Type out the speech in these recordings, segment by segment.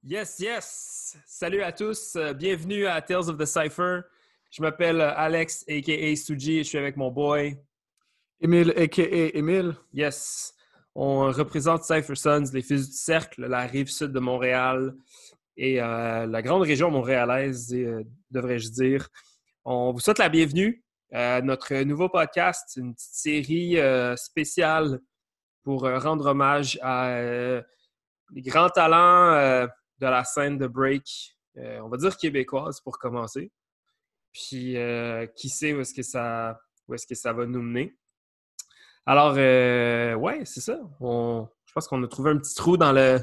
Yes, yes! Salut à tous, bienvenue à Tales of the Cypher. Je m'appelle Alex, a.k.a. Suji, et je suis avec mon boy. Émile, a.k.a. Émile. Yes! On représente Cypher Sons, les Fils du Cercle, la rive sud de Montréal et la grande région montréalaise, devrais-je dire. On vous souhaite la bienvenue à notre nouveau podcast, une petite série spéciale pour rendre hommage à les grands talents de la scène de break, on va dire québécoise pour commencer. Puis, qui sait où est-ce que ça va nous mener. Alors, ouais, c'est ça. Je pense qu'on a trouvé un petit trou dans le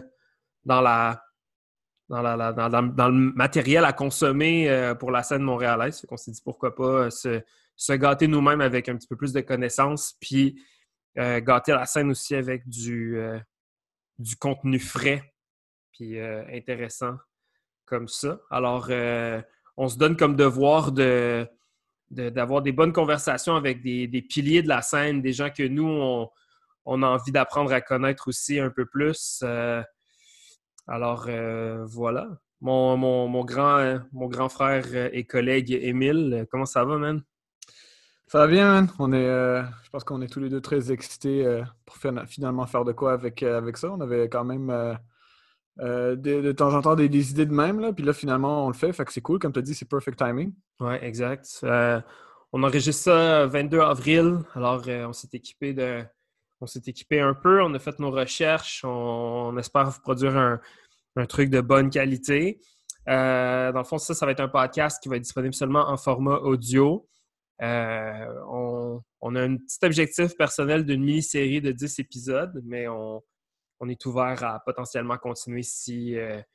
matériel à consommer pour la scène montréalaise. Fait qu'on s'est dit pourquoi pas se gâter nous-mêmes avec un petit peu plus de connaissances, puis gâter la scène aussi avec du contenu frais puis intéressant comme ça. Alors, on se donne comme devoir d'avoir des bonnes conversations avec des piliers de la scène, des gens que nous, on a envie d'apprendre à connaître aussi un peu plus. Alors, voilà. Mon grand frère et collègue Émile, comment ça va, man? Ça va bien, man. Je pense qu'on est tous les deux très excités pour finalement faire de quoi avec ça. On avait quand même de temps en temps des idées de même, là. Puis là, finalement, on le fait. Fait que c'est cool. Comme tu as dit, c'est perfect timing. Oui, exact. On enregistre ça 22 avril. Alors, on s'est équipé un peu. On a fait nos recherches. On espère vous produire un truc de bonne qualité. Dans le fond, ça va être un podcast qui va être disponible seulement en format audio. On a un petit objectif personnel d'une mini-série de 10 épisodes, mais on est ouvert à potentiellement continuer si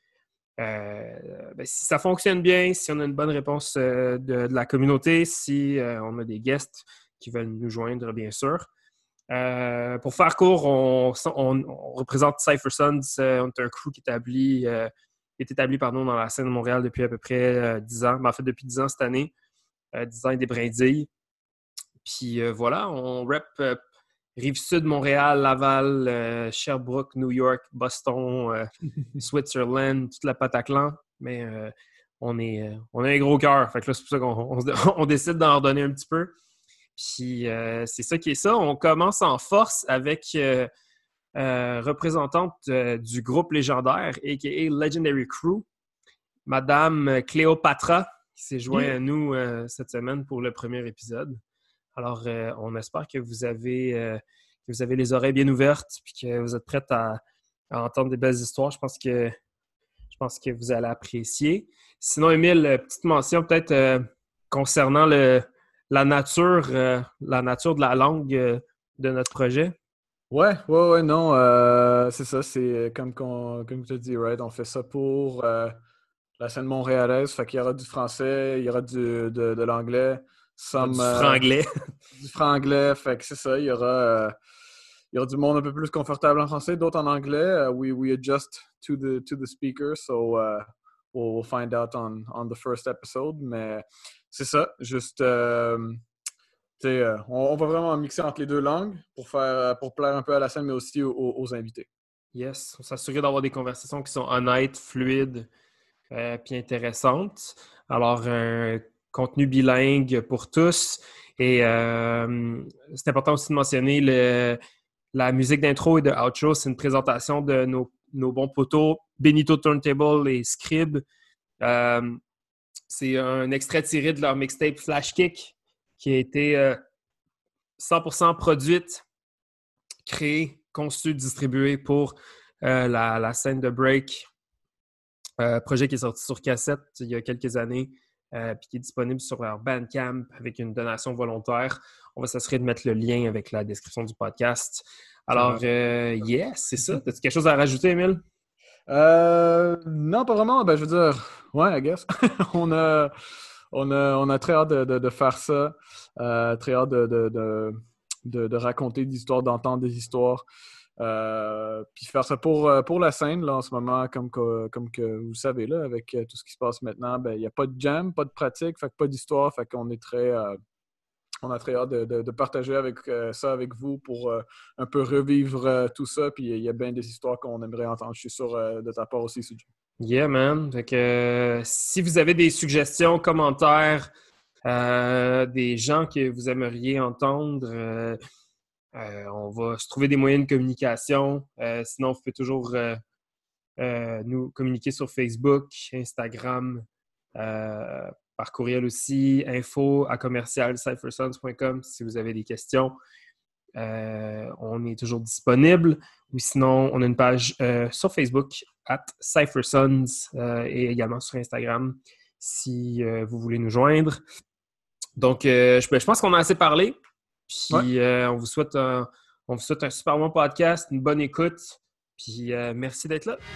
ça fonctionne bien, si on a une bonne réponse de la communauté, si on a des guests qui veulent nous joindre, bien sûr. Pour faire court, on représente Cypher Sons. On est un crew qui est établi dans la scène de Montréal depuis à peu près 10 ans. En fait, depuis 10 ans cette année. 10 ans et des brindilles. Puis voilà, on rep Rive-Sud, Montréal, Laval, Sherbrooke, New York, Boston, Switzerland, toute la Pataclan. Mais on a un gros cœur. Fait que là, c'est pour ça qu'on décide d'en redonner un petit peu. Puis c'est ça qui est ça. On commence en force avec représentante du groupe légendaire, a.k.a. Legendary Crew, Madame Cléopatra, qui s'est jointe à nous cette semaine pour le premier épisode. Alors, on espère que vous avez les oreilles bien ouvertes et que vous êtes prêtes à entendre des belles histoires. Je pense que vous allez apprécier. Sinon, Émile, petite mention peut-être concernant la nature de la langue de notre projet. Ouais, non. C'est ça. C'est comme tu as dit, right? On fait ça pour la scène montréalaise. Fait qu'il y aura du français, il y aura de l'anglais. Du franglais. Du franglais, fait que c'est ça, il y aura du monde un peu plus confortable en français, d'autres en anglais. We adjust to the speaker, so we'll find out on the first episode. Mais c'est ça, juste, on va vraiment mixer entre les deux langues pour plaire un peu à la scène, mais aussi aux invités. Yes, on s'assurer d'avoir des conversations qui sont honnêtes, fluides, puis intéressantes. Alors, un contenu bilingue pour tous. Et c'est important aussi de mentionner la musique d'intro et de outro. C'est une présentation de nos bons potos, Benito Turntable et Scrib. C'est un extrait tiré de leur mixtape Flash Kick qui a été 100% produite, créée, conçue, distribuée pour la scène de break. Projet qui est sorti sur cassette il y a quelques années. Puis qui est disponible sur leur Bandcamp avec une donation volontaire. On va s'assurer de mettre le lien avec la description du podcast. Alors, yes, c'est ça. As-tu quelque chose à rajouter, Émile? Non, pas vraiment. Ben, je veux dire, ouais, I guess. on a très hâte de faire ça. Très hâte de raconter des histoires, d'entendre des histoires. Puis faire ça pour la scène, là, en ce moment, comme que vous le savez, là, avec tout ce qui se passe maintenant, ben, il n'y a pas de jam, pas de pratique, fait que pas d'histoire, fait qu'on est on a très hâte de partager ça avec vous pour un peu revivre tout ça, puis il y a bien des histoires qu'on aimerait entendre. Je suis sûr de ta part aussi, Suji. Yeah, man. Fait que, si vous avez des suggestions, commentaires, des gens que vous aimeriez entendre, on va se trouver des moyens de communication. Sinon, vous pouvez toujours nous communiquer sur Facebook, Instagram, par courriel aussi, info@commercialcyphersons.com si vous avez des questions. On est toujours disponible. Ou sinon, on a une page sur Facebook @CypherSons et également sur Instagram si vous voulez nous joindre. Donc, je pense qu'on a assez parlé. Ouais. Puis, on vous souhaite un super bon podcast, une bonne écoute. Puis, merci d'être là.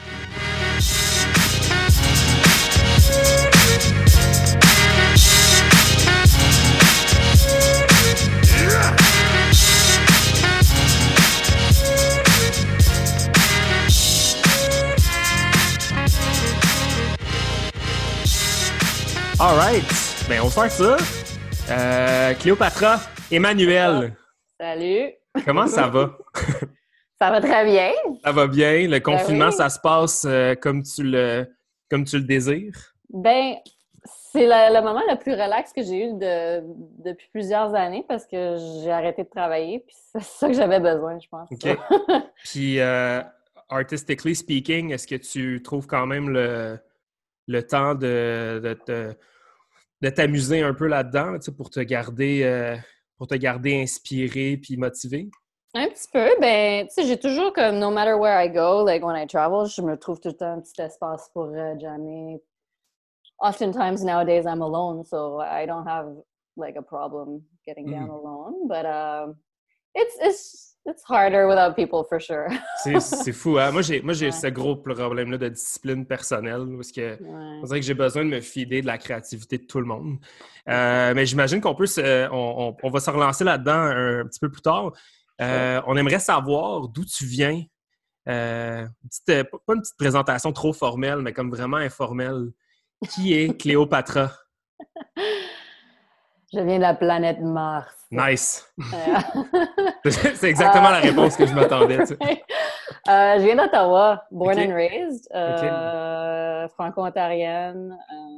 All right. Ben, on va faire ça. Cléopatra, Emmanuel, Salut! comment ça va? Ça va très bien. Ça va bien. Le confinement, oui. ça se passe comme tu le désires? Ben, c'est le moment le plus relax que j'ai eu depuis plusieurs années parce que j'ai arrêté de travailler, puis c'est ça que j'avais besoin, je pense. OK. Puis, artistically speaking, est-ce que tu trouves quand même le temps de t'amuser un peu là-dedans, tu sais, pour te garder inspiré puis motivé? Un petit peu, ben, tu sais, j'ai toujours comme, no matter where I go, like when I travel, je me trouve tout le temps un petit espace pour jammer. Oftentimes nowadays I'm alone, so I don't have like a problem getting down alone, but it's harder without people for sure. C'est fou, hein? Moi, j'ai Ouais. ce gros problème-là de discipline personnelle parce que Ouais. on dirait que j'ai besoin de me fider de la créativité de tout le monde. Mais j'imagine qu'on peut on va se relancer là-dedans un petit peu plus tard. On aimerait savoir d'où tu viens. Pas une petite présentation trop formelle, mais comme vraiment informelle. Qui est Cléopatra? Je viens de la planète Mars. Nice! Euh, C'est exactement la réponse que je m'attendais. Tu sais. je viens d'Ottawa, born Ok. and raised, franco-ontarienne.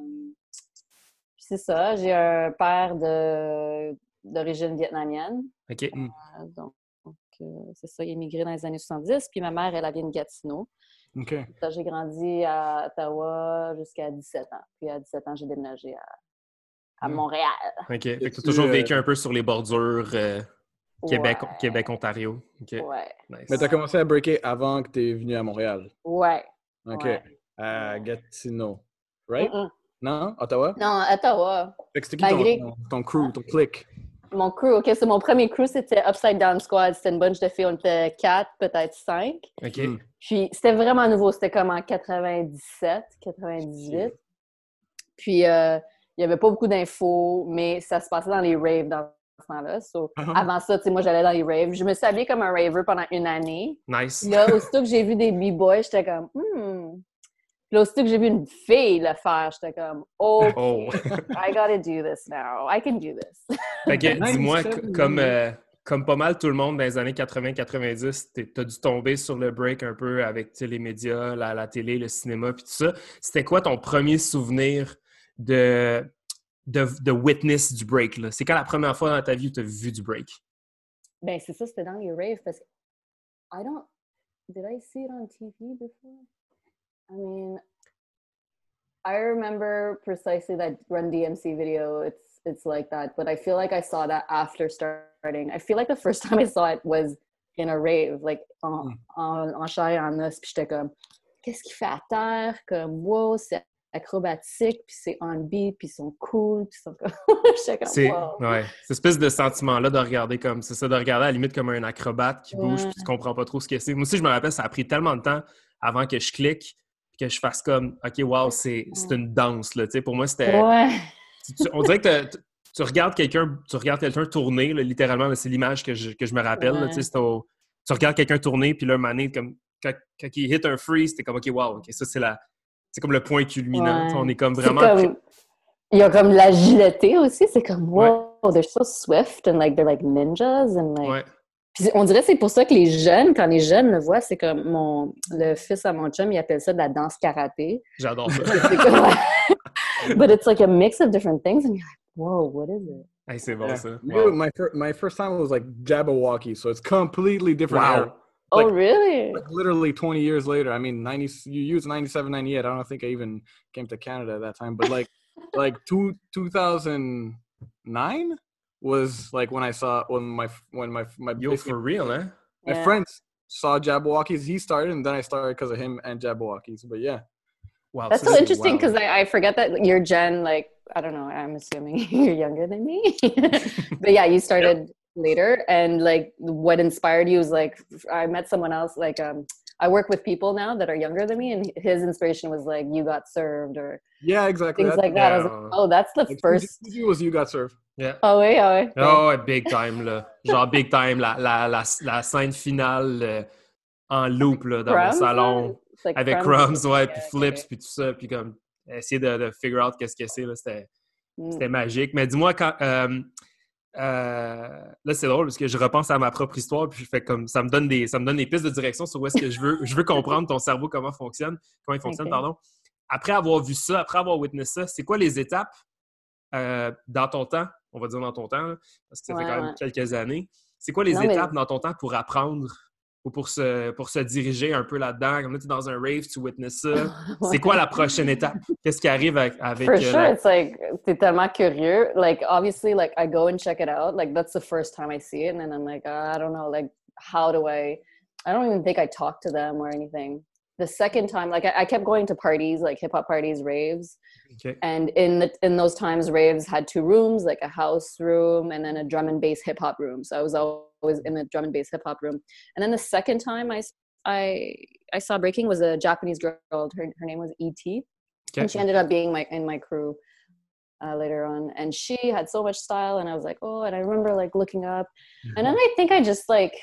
Puis c'est ça, j'ai un père d'origine vietnamienne. OK. Donc, c'est ça, il est immigré dans les années 70. Puis ma mère, elle vient de Gatineau. OK. Ça, j'ai grandi à Ottawa jusqu'à 17 ans. Puis à 17 ans, j'ai déménagé à Montréal. OK. Fait que tu as toujours vécu un peu sur les bordures Ouais. Québec-Ontario. OK. Ouais. Nice. Mais t'as commencé à breaker avant que t'es venu à Montréal. Ouais. OK. Ouais. À Gatineau. Right? Mm-mm. Non? Ottawa? Non, Ottawa. Fait que c'était qui Malgré- ton crew, ton clique? Mon crew, OK, c'est mon premier crew, c'était Upside Down Squad. C'était une bunch de filles, on était 4, peut-être 5. OK. Puis c'était vraiment nouveau, c'était comme en 97, 98. Puis il n'y avait pas beaucoup d'infos, mais ça se passait dans les raves dans ce temps-là. So, avant ça, tu sais, moi, j'allais dans les raves. Je me suis habillée comme un raver pendant une année. Nice. Puis là, aussitôt que j'ai vu des b-boys, j'étais comme, Puis là, aussitôt que j'ai vu une fille le faire, j'étais comme, oh, Oh. I gotta do this now. I can do this. Fait que, Nice, dis-moi, ça, comme pas mal tout le monde dans les années 80-90, t'as dû tomber sur le break un peu avec les médias, la télé, le cinéma, puis tout ça. C'était quoi ton premier souvenir de witness du break, là? C'est quand la première fois dans ta vie où t'as vu du break? Ben, c'est ça, c'était dans les raves parce que did I see it on TV before? I mean, I remember precisely that Run DMC video. It's like that, but I feel like I saw that after starting. I feel like the first time I saw it was in a rave, like en chair et en os, puis j'étais comme, qu'est-ce qu'il fait à terre? Comme, wow, c'est acrobatique, puis c'est on beat, puis ils sont cool, puis ils sont comme... j'étais comme, wow. Ouais, cette espèce de sentiment-là de regarder comme, c'est ça, de regarder à la limite comme un acrobate qui bouge, Ouais. puis tu comprends pas trop ce que c'est. Moi aussi, je me rappelle, ça a pris tellement de temps avant que je clique, que je fasse comme, OK, wow, c'est une danse, là, tu sais. Pour moi, c'était... Ouais. On dirait que tu regardes quelqu'un tourner, là, littéralement, là, c'est l'image que je me rappelle, là, tu sais, tu regardes quelqu'un tourner, puis là, un moment donné, comme, quand il hit un freeze, t'es comme, OK, wow, OK, ça, c'est comme le point culminant. Ouais. On est comme C'est vraiment... comme- Il y a comme l'agilité aussi. C'est comme, wow, they're so swift and like they're like ninjas and like... Ouais. Puis on dirait que c'est pour ça que les jeunes, quand les jeunes le voient, c'est comme le fils à mon chum, il appelle ça de la danse karaté. J'adore ça. C'est comme, but it's like a mix of different things, and you're like, whoa, what is it? Hey, c'est bon, ça. Wow. My first time was like Jabberwocky, so it's completely different. Wow. Era. Oh, really? Like literally 20 years later. I mean, you used 97, 98. I don't think I even came to Canada at that time, but like 2009 was like when my Yo, for real, huh? My friends saw Jabberwockies. He started, and then I started because of him and Jabberwockies. But yeah. Wow, that's so interesting because I forget that your gen, like, I don't know, I'm assuming you're younger than me. But yeah, you started later, and like what inspired you was like, I met someone else, like I work with people now that are younger than me, and his inspiration was like You Got Served or exactly things like that. I was like, oh, that's the first. Was You Got Served. Yeah. Oh oui, oh oui. Oh, ouais, big time, là. Genre big time, la scène finale en loop, là, dans mon salon. Like avec Crumbs, ouais, puis Flips, puis tout ça, puis comme essayer de figure out qu'est-ce que c'est, là, c'était magique. Mais dis-moi, quand... là, c'est drôle, parce que je repense à ma propre histoire, puis je fais comme... Ça me donne des pistes de direction sur où est-ce que je veux comprendre ton cerveau, comment il fonctionne, pardon. Après avoir vu ça, après avoir witnessé ça, c'est quoi les étapes dans ton temps, on va dire dans ton temps, là, parce que ça fait quand même quelques années. C'est quoi les étapes dans ton temps pour apprendre ou pour se diriger un peu là-dedans? Comme là, tu es dans un rave, tu witnesses ça. C'est quoi la prochaine étape? Qu'est-ce qui arrive avec... For sure, it's like, t'es tellement curieux. Like, obviously, like, I go and check it out. Like, that's the first time I see it. And then I'm like, I don't know, like, how do I don't even think I talk to them or anything. The second time, like, I kept going to parties, like hip-hop parties, raves. Okay. And in those times, raves had two rooms, like a house room and then a drum and bass hip-hop room. So I was always in the drum and bass hip-hop room. And then the second time I saw breaking was a Japanese girl. Her name was E.T. Okay. And she ended up being in my crew later on. And she had so much style. And I was like, oh, and I remember like looking up. Mm-hmm. And then I think I just like,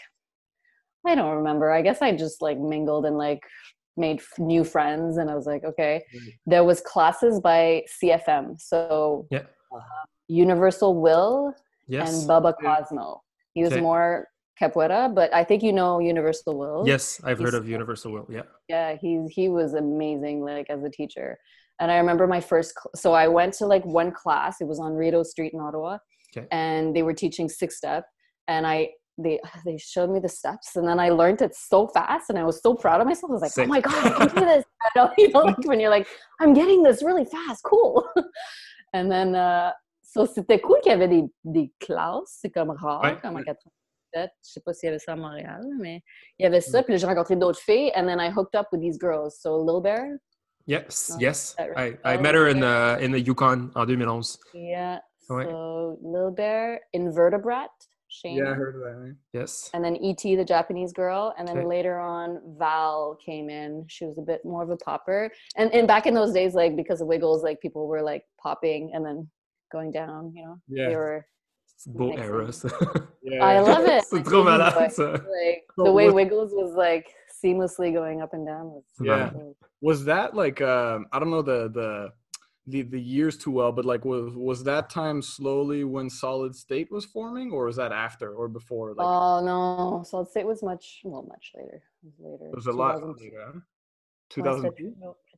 I don't remember. I guess I just like mingled and like made new friends. And I was like, okay. There was classes by CFM. So Universal Will and Bubba Cosmo. He was more capoeira, but I think you know Universal Will. Yes, I've heard of Universal Will. Yeah. Yeah, he was amazing, like as a teacher. And I remember my first, so I went to like one class. It was on Rideau Street in Ottawa, and they were teaching 6-step, and they showed me the steps, and then I learned it so fast, and I was so proud of myself. I was like, oh my god, I can do this. You know, like when you're like, I'm getting this really fast, cool. And then so c'était cool qu'il y avait des classes, c'est comme rare, comme en 87. Je sais pas s'il y avait ça à Montréal, mais il y avait ça. Puis là, j'ai rencontré d'autres filles, and then I hooked up with these girls. So Lil Bear. Yes. Right? I met her in the Yukon en 2011. Yeah. So Lil Bear, Invertebrat, Shane. Yeah, I heard of that. Right? Yes. And then E.T., the Japanese girl. And then later on, Val came in. She was a bit more of a popper. And back in those days, like, because of Wiggles, like, people were, like, popping and then going down, you know? Yeah. They were... Beau era, ça. I love it. C'est trop malade, ça. Like, the way Wiggles was, like, seamlessly going up and down. Was that, like, I don't know the years too well, but like was that time slowly when Solid State was forming, or was that after or before? Like, oh no, Solid State was much later. It was a lot later. 2002.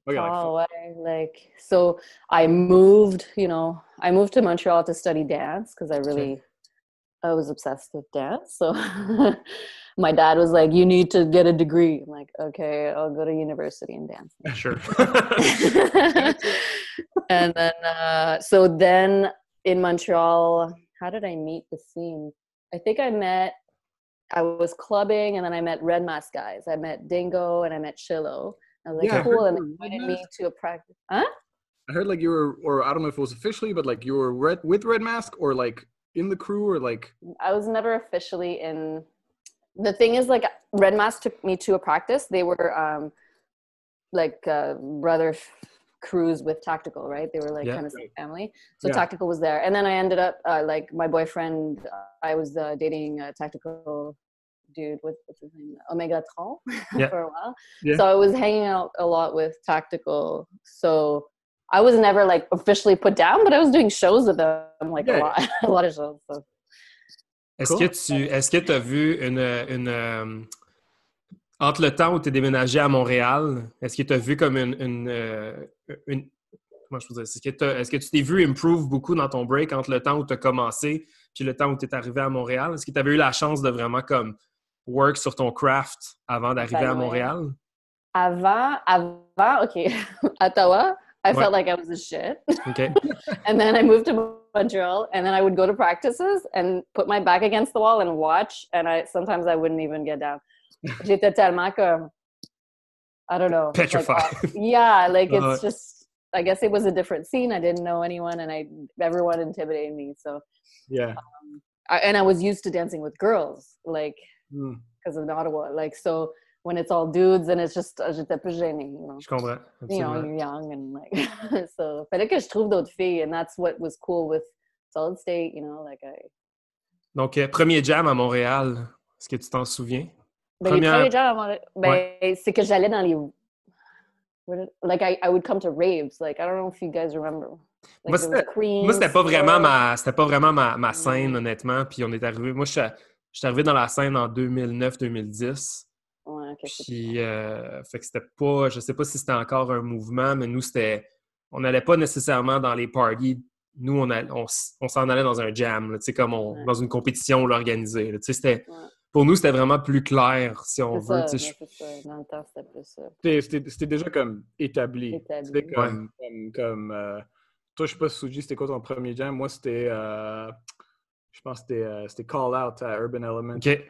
Like, so I moved to Montreal to study dance because I was obsessed with dance. So my dad was like, you need to get a degree. I'm like, okay, I'll go to university and dance. Sure. And then, so then in Montreal, how did I meet the scene? I think I was clubbing, and then I met Red Mask guys. I met Dingo and I met Shillo. I was like, cool. And they invited me to a practice. Huh? I heard like you were, or I don't know if it was officially, but like you were with Red Mask or like in the crew or like. I was never officially in. The thing is, like, Red Mask took me to a practice. They were brother crews with Tactical, right? They were like kind of same family. So Tactical was there. And then I ended up like my boyfriend, I was dating a Tactical dude with, what's his name? Omegatron for a while. Yeah. So I was hanging out a lot with Tactical. So I was never like officially put down, but I was doing shows with them, like a lot of shows. So. Cool. Est-ce que tu as vu entre le temps où tu es déménagé à Montréal, est-ce que tu as vu comme comment je peux dire? Est-ce que tu t'es vu improve beaucoup dans ton break entre le temps où tu as commencé puis le temps où tu es arrivé à Montréal? Est-ce que tu avais eu la chance de vraiment comme work sur ton craft avant d'arriver à Montréal? Avant, okay, Ottawa, I felt like I was a shit. Okay. And then I moved to Montreal, and then I would go to practices and put my back against the wall and watch, and sometimes I wouldn't even get down. J'étais tellement comme, I don't know. Petrified. It's just, I guess it was a different scene. I didn't know anyone, and everyone intimidated me. So yeah, I was used to dancing with girls, like because of Ottawa, like so. When it's all dudes and it's just, j'étais plus gênée, you know. Je comprends. You know, you're young and like, so, fallait que je trouve d'autres filles, and that's what was cool with Solid State, you know, like Donc, premier jam à Montréal, est-ce que tu t'en souviens? Ben, les premiers jams à Montréal, c'est que j'allais dans les, like I would come to raves, like I don't know if you guys remember. Like, moi, c'était pas vraiment ma scène, honnêtement, puis on est arrivé, moi, je suis arrivé dans la scène en 2009-2010. Ouais, okay, puis, fait que c'était pas... Je sais pas si c'était encore un mouvement, mais nous, on n'allait pas nécessairement dans les parties. Nous, on s'en allait dans un jam, tu sais, comme dans une compétition organisée. Tu sais, c'était... Ouais. Pour nous, c'était vraiment plus clair, si on veut. C'est ça. Dans le temps, c'était plus ça. C'était déjà comme établi. C'était comme toi, je sais pas, Suji, c'était quoi ton premier jam? Moi, c'était... je pense que c'était Call Out à Urban Element. OK.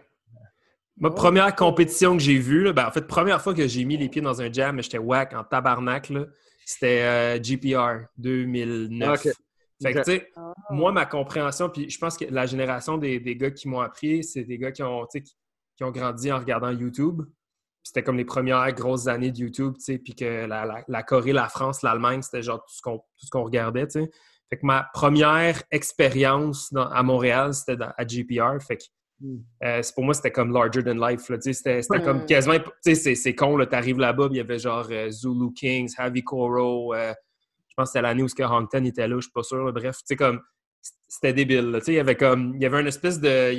Ma première compétition que j'ai vue, là, en fait, première fois que j'ai mis les pieds dans un jam, mais j'étais whack en tabarnak, là, c'était GPR 2009. Okay. Fait que, tu sais, moi, ma compréhension, puis je pense que la génération des gars qui m'ont appris, c'est des gars qui ont grandi en regardant YouTube. C'était comme les premières grosses années de YouTube, tu sais, puis que la Corée, la France, l'Allemagne, c'était genre tout ce qu'on regardait, tu sais. Fait que ma première expérience à Montréal, c'était à GPR. Fait que pour moi, c'était comme larger than life. Là, c'était comme quasiment... C'est con, là, t'arrives là-bas, il y avait genre Zulu Kings, Heavy Koro, je pense que c'était l'année où Hongton était là, je suis pas sûr. Là, bref, comme c'était débile. Là, il y avait une espèce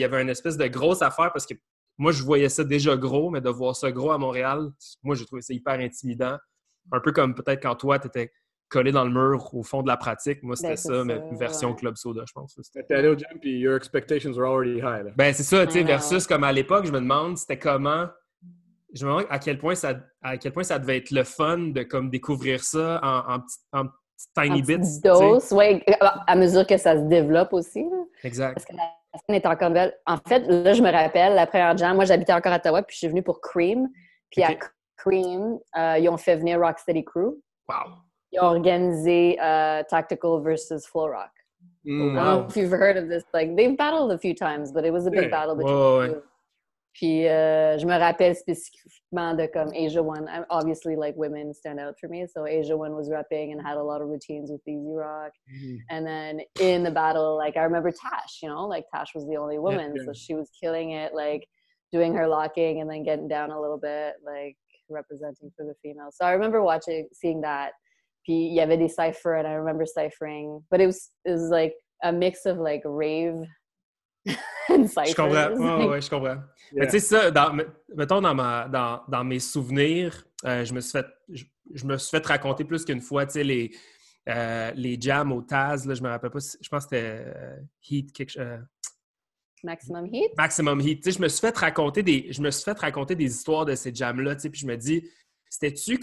de grosse affaire parce que moi, je voyais ça déjà gros, mais de voir ça gros à Montréal, moi, j'ai trouvé ça hyper intimidant. Un peu comme peut-être quand toi, t'étais collé dans le mur au fond de la pratique. Moi, c'était ça, mais une version Club Soda, je pense. T'étais allé au gym puis your expectations were already high. Là. Ben, c'est ça, tu sais, versus comme à l'époque, je me demande, c'était comment... Je me demande à quel point ça devait être le fun de comme découvrir ça en petites tiny bits. Dose, oui, à mesure que ça se développe aussi. Là. Exact. Parce que la scène est encore belle. En fait, là, je me rappelle, la première jam, moi, j'habitais encore à Ottawa, puis je suis venue pour Cream. Puis à Cream, ils ont fait venir Rocksteady Crew. Wow. Ils ont organisé Tactical versus Flow Rock. I don't know if you've heard of this. Like, they've battled a few times, but it was a big battle between the two. Puis, je me rappelle spécifiquement de comme Asia One. Obviously, like, women stand out for me. So, Asia One was repping and had a lot of routines with Easy Rock. Mm-hmm. And then in the battle, like, I remember Tash, you know? Like, Tash was the only woman. Yeah. So, she was killing it, like, doing her locking and then getting down a little bit, like, representing for the females. So, I remember seeing that. Puis, il y avait des cyphers, and I remember ciphering. But it was like a mix of, like, rave and ciphers. Je comprends. Ouais, je comprends. Yeah. Mais tu sais, ça, mettons, dans mes souvenirs, je me suis fait raconter plus qu'une fois, tu sais, les jams au Taz, là, je me rappelle pas, je pense que c'était Heat, Maximum Heat? Maximum Heat. Tu sais, je me suis fait raconter des histoires de ces jams-là, tu sais, puis je me dis, c'était-tu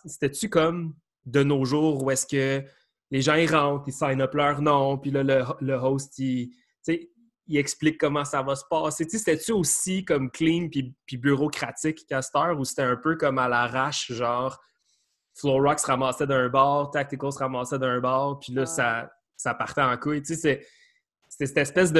comme de nos jours où est-ce que les gens, ils rentrent, ils sign up leur nom, puis là, le host, il explique comment ça va se passer. Tu sais, c'était-tu aussi comme clean puis bureaucratique qu'à cette heure, ou c'était un peu comme à l'arrache, genre Flow Rock se ramassait d'un bar, Tactical se ramassait d'un bar, puis là, ça partait en couille. Tu sais, c'était cette espèce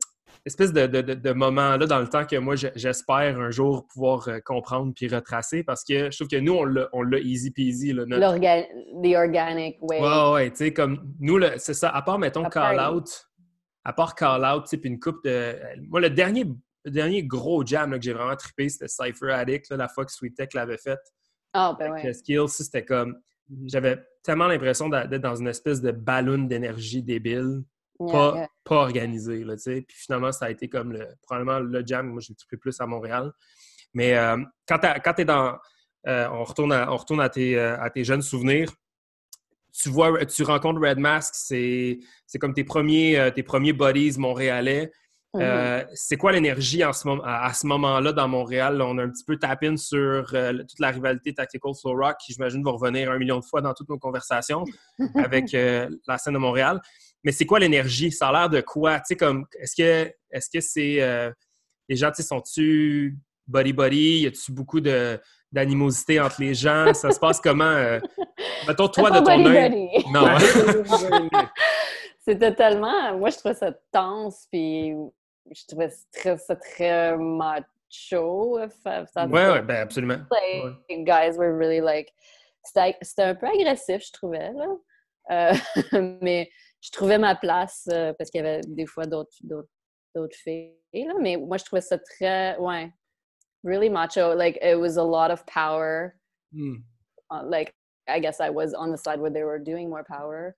de moment-là dans le temps que moi, j'espère un jour pouvoir comprendre puis retracer, parce que je trouve que nous, on l'a easy peasy. Là, the organic way. Ouais, tu sais, comme nous, c'est ça, à part, mettons, Call-Out, tu sais, puis une coupe de... Moi, le dernier gros jam là, que j'ai vraiment trippé, c'était Cypher Addict, là, la fois que Sweet Tech l'avait fait. Ah, ben ouais. Skills, c'était comme... J'avais tellement l'impression d'être dans une espèce de ballon d'énergie débile. pas organisé, là, tu sais. Puis finalement, ça a été comme probablement le jam. Moi, j'ai trippé plus à Montréal. Mais quand t'es dans... on retourne à tes jeunes souvenirs. Tu rencontres Red Mask, c'est comme tes premiers buddies montréalais. C'est quoi l'énergie à ce moment-là dans Montréal? Là, on a un petit peu tapé sur toute la rivalité Tactical Flow Rock, qui j'imagine va revenir 1 million de fois dans toutes nos conversations avec la scène de Montréal. Mais c'est quoi l'énergie? Ça a l'air de quoi? Tu sais, comme, est-ce que c'est... les gens, tu sais, sont-tu buddy-buddy? Y a-tu beaucoup d'animosité entre les gens? Ça se passe comment? Mettons, toi, de ton œil... Non. C'était tellement... Moi, je trouvais ça tense, puis je trouvais ça très macho. Ouais, ben absolument. Like, guys were really like... C'était un peu agressif, je trouvais, là. Mais je trouvais ma place parce qu'il y avait des fois d'autres filles, là. Mais moi, je trouvais ça très... Ouais. Really macho. Like, it was a lot of power. Like, I guess I was on the side where they were doing more power.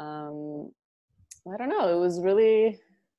I don't know. It was really...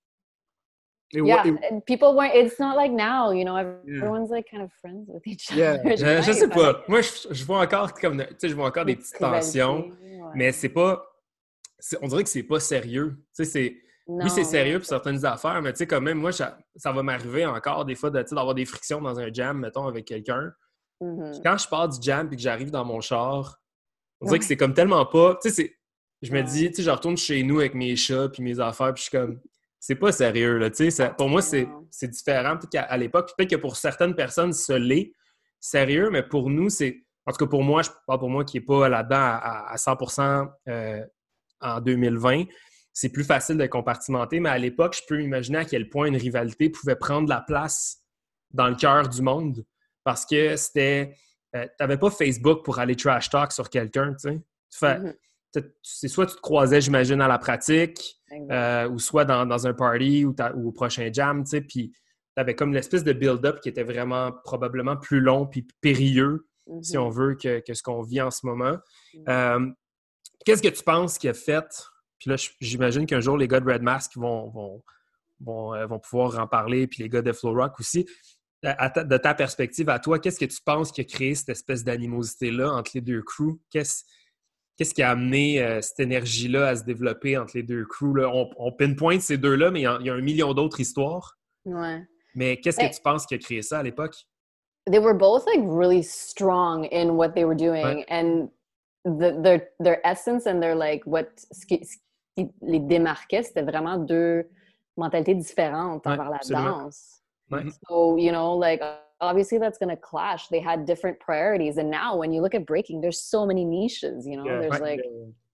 and people weren't... It's not like now, you know, everyone's like kind of friends with each other. Je sais pas. Moi, je vois encore comme... Tu sais, je vois encore des petites tensions, mais c'est pas... On dirait que c'est pas sérieux. Tu sais, oui, c'est sérieux pour certaines affaires, mais tu sais, quand même, moi, ça va m'arriver encore des fois d'avoir des frictions dans un jam, mettons, avec quelqu'un. Quand je pars du jam et que j'arrive dans mon char, on dirait que c'est comme tellement pas... Tu sais, je me dis, tu sais, je retourne chez nous avec mes chats puis mes affaires, puis je suis comme... C'est pas sérieux, là, tu sais. Pour moi, c'est différent. Peut-être qu'à l'époque, peut-être que pour certaines personnes, ce l'est sérieux, mais pour nous, c'est... En tout cas, pour moi, je parle pour moi qui n'est pas là-dedans à 100% en 2020, c'est plus facile de compartimenter, mais à l'époque, je peux imaginer à quel point une rivalité pouvait prendre la place dans le cœur du monde parce que c'était... tu n'avais pas Facebook pour aller trash talk sur quelqu'un, tu sais. C'est soit tu te croisais, j'imagine, à la pratique ou soit dans un party ou au prochain jam, tu sais, puis tu avais comme l'espèce de build-up qui était vraiment probablement plus long puis périlleux, si on veut, que ce qu'on vit en ce moment. Qu'est-ce que tu penses qu'il a fait? Puis là, j'imagine qu'un jour, les gars de Red Mask vont pouvoir en parler, puis les gars de Flow Rock aussi. De ta perspective à toi, qu'est-ce que tu penses qui a créé cette espèce d'animosité-là entre les deux crews? Qu'est-ce qui a amené cette énergie-là à se développer entre les deux crews? Là? On pinpoint ces deux-là, mais il y a 1 million d'autres histoires. Ouais. Mais qu'est-ce que tu penses qui a créé ça à l'époque? They were both like really strong in what they were doing, and their essence and their like ce qui les démarquait, c'était vraiment deux mentalités différentes envers la danse. So, you know, like obviously that's going to clash. They had different priorities, and now when you look at breaking, there's so many niches, you know. There's like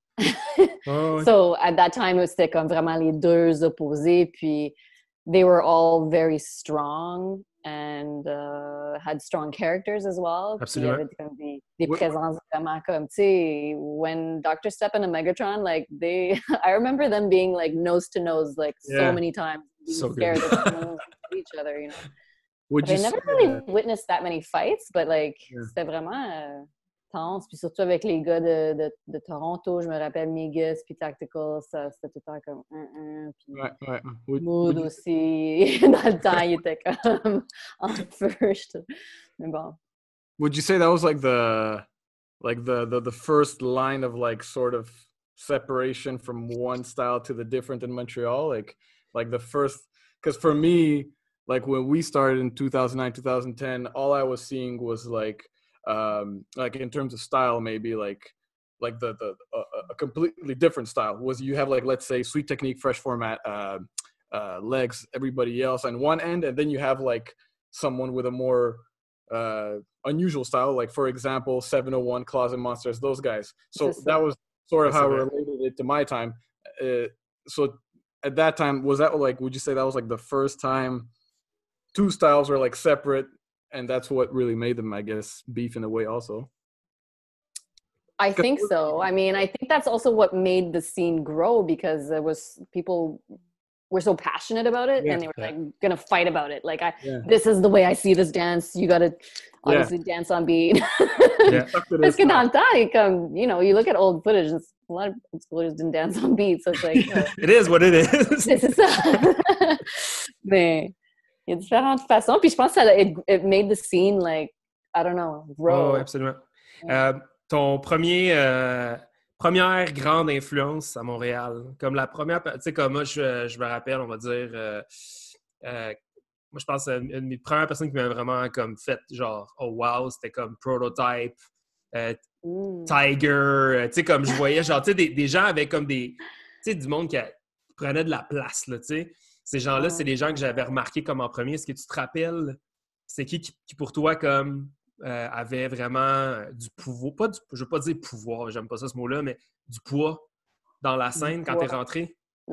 so at that time c'était comme vraiment les deux opposés, puis they were all very strong and had strong characters as well. Absolument. Il y avait comme des présences vraiment comme, tu sais, when Dr. Step and Megatron, like I remember them being like nose to nose like so many times, being scared of each other, you know. I never really witnessed that many fights, but like c'était vraiment tense, puis surtout avec les gars de Toronto, je me rappelle Migus puis Tactical, ça c'était tout le temps comme puis Mood aussi dans le temps il était comme en feu, mais bon. Would you say that was like the first line of like sort of separation from one style to the different in Montreal, like the first, because for me, like when we started in 2009 2010, all I was seeing was like in terms of style, maybe like a completely different style. Was you have like, let's say, Sweet Technique, Fresh Format, Legs, everybody else on one end, and then you have like someone with a more unusual style, like for example 701, Closet Monsters, those guys. So that was sort of how I related it to my time. So at that time, was that like, would you say that was like the first time two styles were like separate? And that's what really made them, I guess, beef in a way also. I think so. I mean, I think that's also what made the scene grow, because there was people were so passionate about it and they were like gonna fight about it. Like, this is the way I see this dance. You gotta obviously dance on beat. Parce que dans le temps, comme, you know, you look at old footage, a lot of schoolers didn't dance on beat, so it's like... It is what it is! C'est ça! Mais il y a différentes façons, puis je pense que it made the scene, like, I don't know, grow. Oh, absolument. Ton première grande influence à Montréal, comme la première, tu sais, comme moi, je me rappelle, on va dire, moi, je pense que une de mes premières personnes qui m'a vraiment comme fait, genre, oh wow, c'était comme Prototype, Tiger, tu sais, comme je voyais, genre, tu sais, des gens avec comme des, tu sais, du monde qui prenait de la place, là, tu sais. Ces gens-là, c'est des gens que j'avais remarqués comme en premier. Est-ce que tu te rappelles, c'est qui pour toi, comme, avait vraiment du pouvoir, je veux pas dire pouvoir, j'aime pas ça ce mot-là, mais du poids dans la scène quand t'es rentré?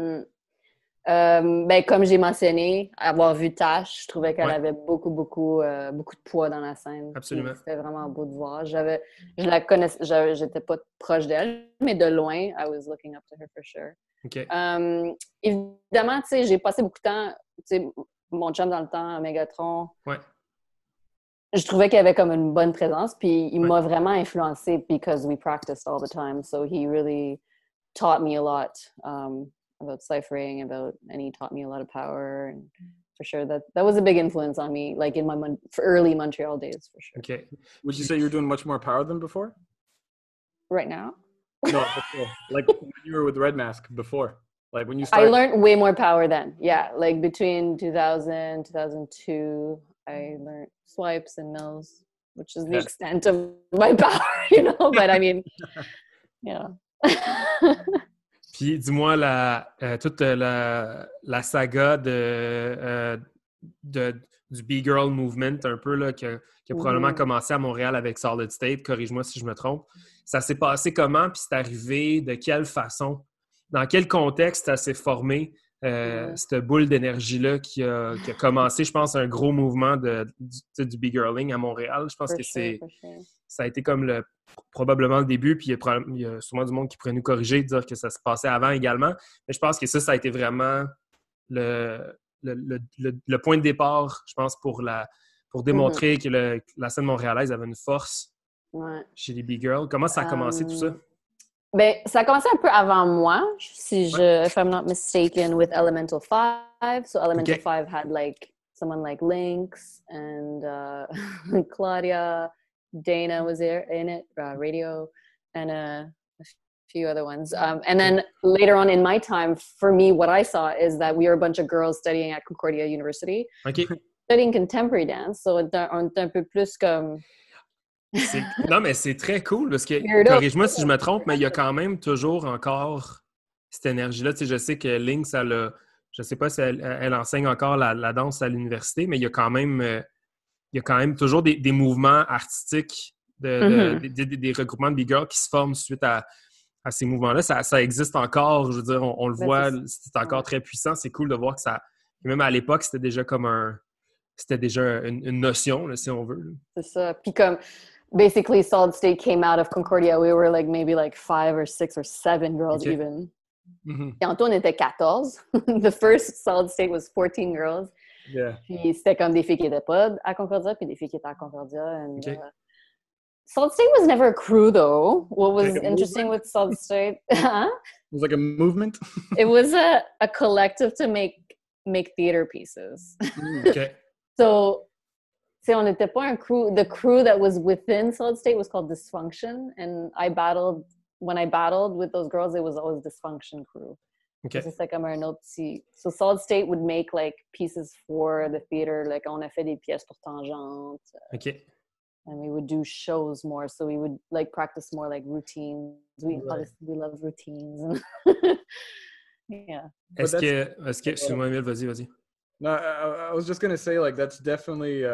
Ben, comme j'ai mentionné, avoir vu Tash, je trouvais qu'elle avait beaucoup de poids dans la scène. Absolument. C'était vraiment beau de voir. Je la connaissais, j'étais pas proche d'elle, mais de loin, I was looking up to her for sure. Okay. Évidemment, tu sais, j'ai passé beaucoup de temps, tu sais, mon chum dans le temps à Megatron. Ouais. Je trouvais qu'il avait comme une bonne présence, puis il m'a vraiment influencé because we practiced all the time. So he really taught me a lot. About ciphering, and he taught me a lot of power, and for sure that was a big influence on me, like in my early Montreal days, for sure. Okay. Would you say you're doing much more power than before? Right now? No, before. Like when you were with Red Mask before. Like when you started. I learned way more power then. Yeah, like between 2000, 2002, I learned swipes and mills, which is the extent of my power, you know, but I mean, yeah. Puis, dis-moi, toute la saga du B-Girl Movement, un peu, là, qui a probablement commencé à Montréal avec Solid State, corrige-moi si je me trompe. Ça s'est passé comment? Puis c'est arrivé de quelle façon? Dans quel contexte ça s'est formé, cette boule d'énergie-là qui a commencé, je pense, un gros mouvement du B-Girling à Montréal? Je pense que ça a été comme probablement le début, puis il y a sûrement du monde qui pourrait nous corriger, dire que ça se passait avant également. Mais je pense que ça a été vraiment le point de départ, je pense, pour démontrer que la scène montréalaise avait une force chez les B-Girls. Comment ça a commencé tout ça? Ben, ça a commencé un peu avant moi, if I'm not mistaken, with Elemental 5. So Elemental 5 had like someone like Lynx and Claudia. Dana was there in it, Radio, and a few other ones. And then later on in my time, for me, what I saw is that we were a bunch of girls studying at Concordia University, studying contemporary dance. So on est un peu plus comme... Non, mais c'est très cool parce que, corrige-moi si je me trompe, mais il y a quand même toujours encore cette énergie-là. Tu sais, je sais que Lynx, je sais pas si elle enseigne encore la danse à l'université, mais il y a quand même toujours des mouvements artistiques, des regroupements de B-Girls qui se forment suite à ces mouvements-là. Ça existe encore, je veux dire, on le voit, c'est encore très puissant. C'est cool de voir que ça... Même à l'époque, c'était déjà comme une notion, là, si on veut. Là. C'est ça. Puis comme, basically, Solid State came out of Concordia. We were like maybe like 5 or 6 or 7 girls even. Et en tout, on était 14. The first Solid State was 14 girls. Yeah. Puis c'était comme des filles qui n'étaient pas à Concordia, puis des filles qui étaient à Concordia. And, Solid State was never a crew, though. What was interesting with Solid State... It was like a movement? It was a collective to make theater pieces. Okay. So, on n'était pas un crew. The crew that was within Solid State was called Dysfunction, and when I battled with those girls, it was always Dysfunction crew. Okay. C'était comme un autre petit... So Solid State would make like pieces for the theater. Like on a fait des pièces pour Tangente. Okay. And we would do shows more. So we would like practice more like routines. We love routines. Yeah. Est-ce que excuse-moi, Emile, vas-y. No, I was just gonna say like that's definitely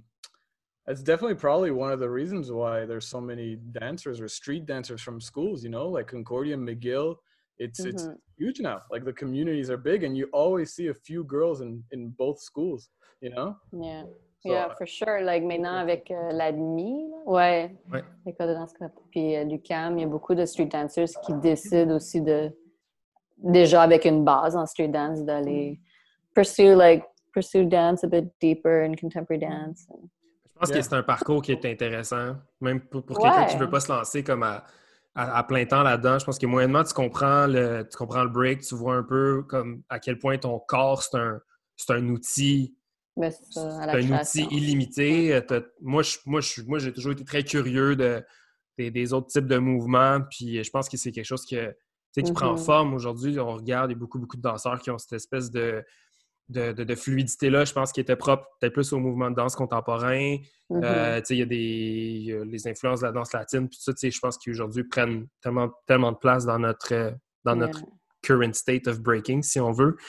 probably one of the reasons why there's so many dancers or street dancers from schools. You know, like Concordia, McGill. It's huge now. Like the communities are big, and you always see a few girls in both schools. You know. Yeah. So, yeah, for sure. Like maintenant avec l'ADMI, l'école de danse puis l'UQAM, il y a beaucoup de street dancers qui décident aussi déjà avec une base en street dance d'aller pursue dance a bit deeper in contemporary dance. Je pense que c'est un parcours qui est intéressant, même pour quelqu'un qui ne veut pas se lancer comme à à plein temps là-dedans. Je pense que moyennement, tu comprends le break, tu vois un peu comme à quel point ton corps, c'est un outil. Mais c'est ça, à C'est la un outil création. illimité. Moi, j'ai toujours été très curieux des autres types de mouvements. Puis je pense que c'est quelque chose qui prend forme aujourd'hui. On regarde, il y a beaucoup, beaucoup de danseurs qui ont cette espèce de fluidité-là. Je pense qu'il était propre peut-être plus au mouvement de danse contemporain. Il y a les influences de la danse latine. Puis tout ça, je pense qu'aujourd'hui prennent tellement, tellement de place dans notre current state of breaking, si on veut.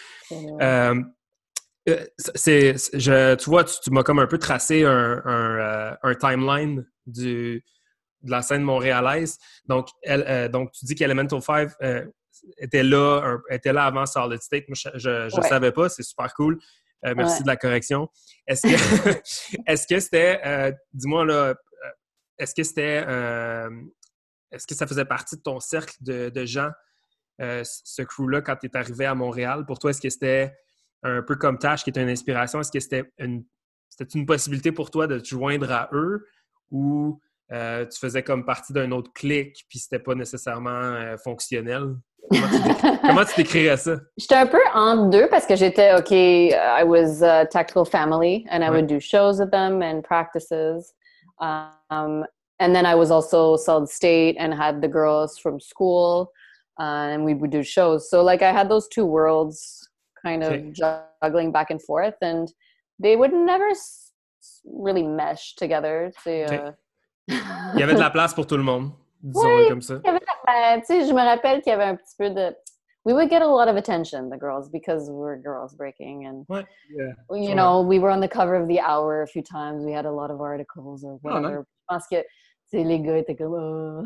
Tu vois, tu m'as comme un peu tracé un timeline de la scène montréalaise. Donc, donc tu dis qu'Elemental 5 était là avant Solid State. Moi, je ne savais pas. C'est super cool. Merci de la correction. Est-ce que c'était... dis-moi, là, est-ce que c'était... est-ce que ça faisait partie de ton cercle de gens, ce crew-là, quand tu es arrivé à Montréal? Pour toi, est-ce que c'était un peu comme Tash qui était une inspiration? Est-ce que c'était une possibilité pour toi de te joindre à eux ou tu faisais comme partie d'un autre clique puis c'était pas nécessairement fonctionnel? Comment tu décrirais ça? J'étais un peu entre deux parce que j'étais, I was a tactical family and I would do shows with them and practices. And then I was also Solid State and had the girls from school and we would do shows. So like I had those two worlds kind of juggling back and forth and they would never really mesh together. Il y avait de la place pour tout le monde, disons-le comme ça. Je me rappelle qu'il y avait un petit peu de... We would get a lot of attention, the girls, because we were girls breaking. And, you know, we were on the cover of The Hour a few times. We had a lot of articles or whatever. Je pense que les gars étaient comme...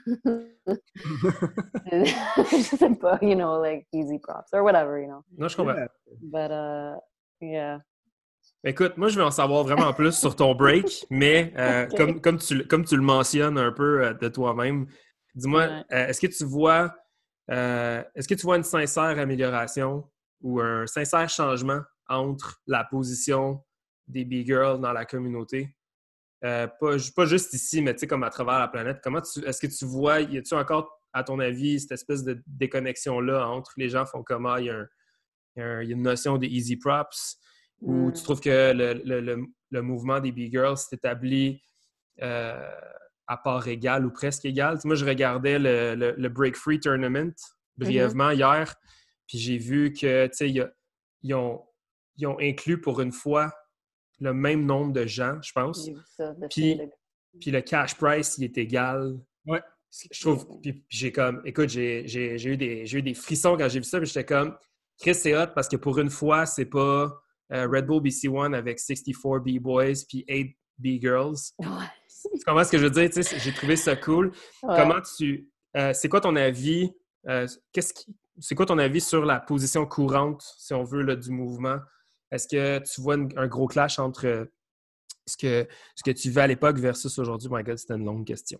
je sais pas, you know, like easy props or whatever, you know. Non, je comprends. But, yeah. Écoute, moi, je veux en savoir vraiment plus sur ton break, mais comme tu le mentionnes un peu de toi-même, dis-moi, est-ce que tu vois une sincère amélioration ou un sincère changement entre la position des B-Girls dans la communauté? Pas juste ici, mais tu sais, comme à travers la planète. Est-ce que tu vois, y a-tu encore, à ton avis, cette espèce de déconnexion-là entre les gens font comment, il y a une notion de easy props? Ou tu trouves que le mouvement des B-Girls s'est établi à part égale ou presque égale? Moi, je regardais le Break Free Tournament brièvement hier, puis j'ai vu que, tu sais, ils ont inclus pour une fois le même nombre de gens, je pense. Puis le cash price, il est égal. Ouais. Je trouve, puis j'ai comme, écoute, j'ai eu des frissons quand j'ai vu ça, puis j'étais comme, Chris, c'est hot parce que pour une fois, c'est pas Red Bull BC1 avec 64 B-Boys puis 8 B-Girls. Tu comprends ce que je veux dire? J'ai trouvé ça cool. Comment c'est quoi ton avis? C'est quoi ton avis sur la position courante, si on veut, là, du mouvement? Est-ce que tu vois un gros clash entre ce que tu vivais à l'époque versus aujourd'hui? My God, c'était une longue question.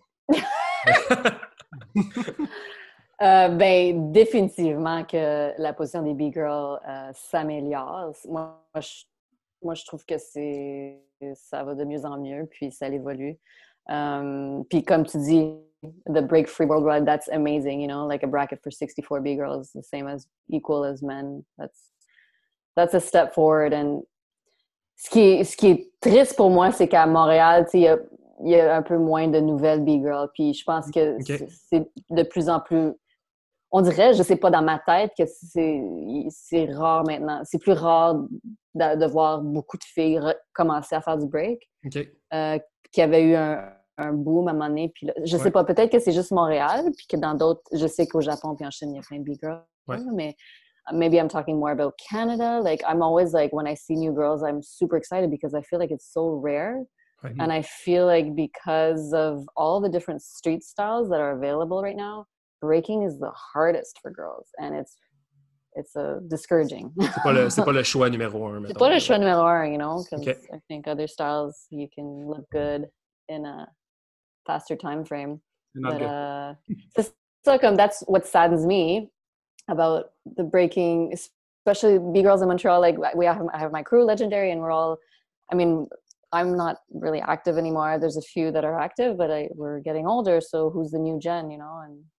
Définitivement que la position des B-Girls s'améliore. Moi, je trouve que ça va de mieux en mieux, puis ça évolue. Puis comme tu dis, the break free worldwide, that's amazing, you know, like a bracket for 64 B-Girls, the same as equal as men. That's a step forward. And ce qui est triste pour moi, c'est qu'à Montréal, tu sais, il y a un peu moins de nouvelles B-Girls. Puis je pense que c'est de plus en plus... On dirait, je sais pas, dans ma tête, que c'est rare maintenant. C'est plus rare de voir beaucoup de filles commencer à faire du break. Qu'il y avait eu un boom à un moment donné. Puis là, je sais pas, peut-être que c'est juste Montréal, puis que dans d'autres... Je sais qu'au Japon puis en Chine, il y a plein de B-Girls. Mais maybe I'm talking more about Canada. Like, I'm always like, when I see new girls, I'm super excited because I feel like it's so rare. And I feel like because of all the different street styles that are available right now, breaking is the hardest for girls. And it's discouraging. C'est pas le choix numéro un. C'est pas le choix numéro un, you know, because I think other styles, you can look good in a faster time frame. But so comme that's what saddens me about the breaking, especially B-Girls in Montreal. Like I have my crew, Legendary, and we're all, I mean, I'm not really active anymore. There's a few that are active, but we're getting older. So who's the new gen, you know? And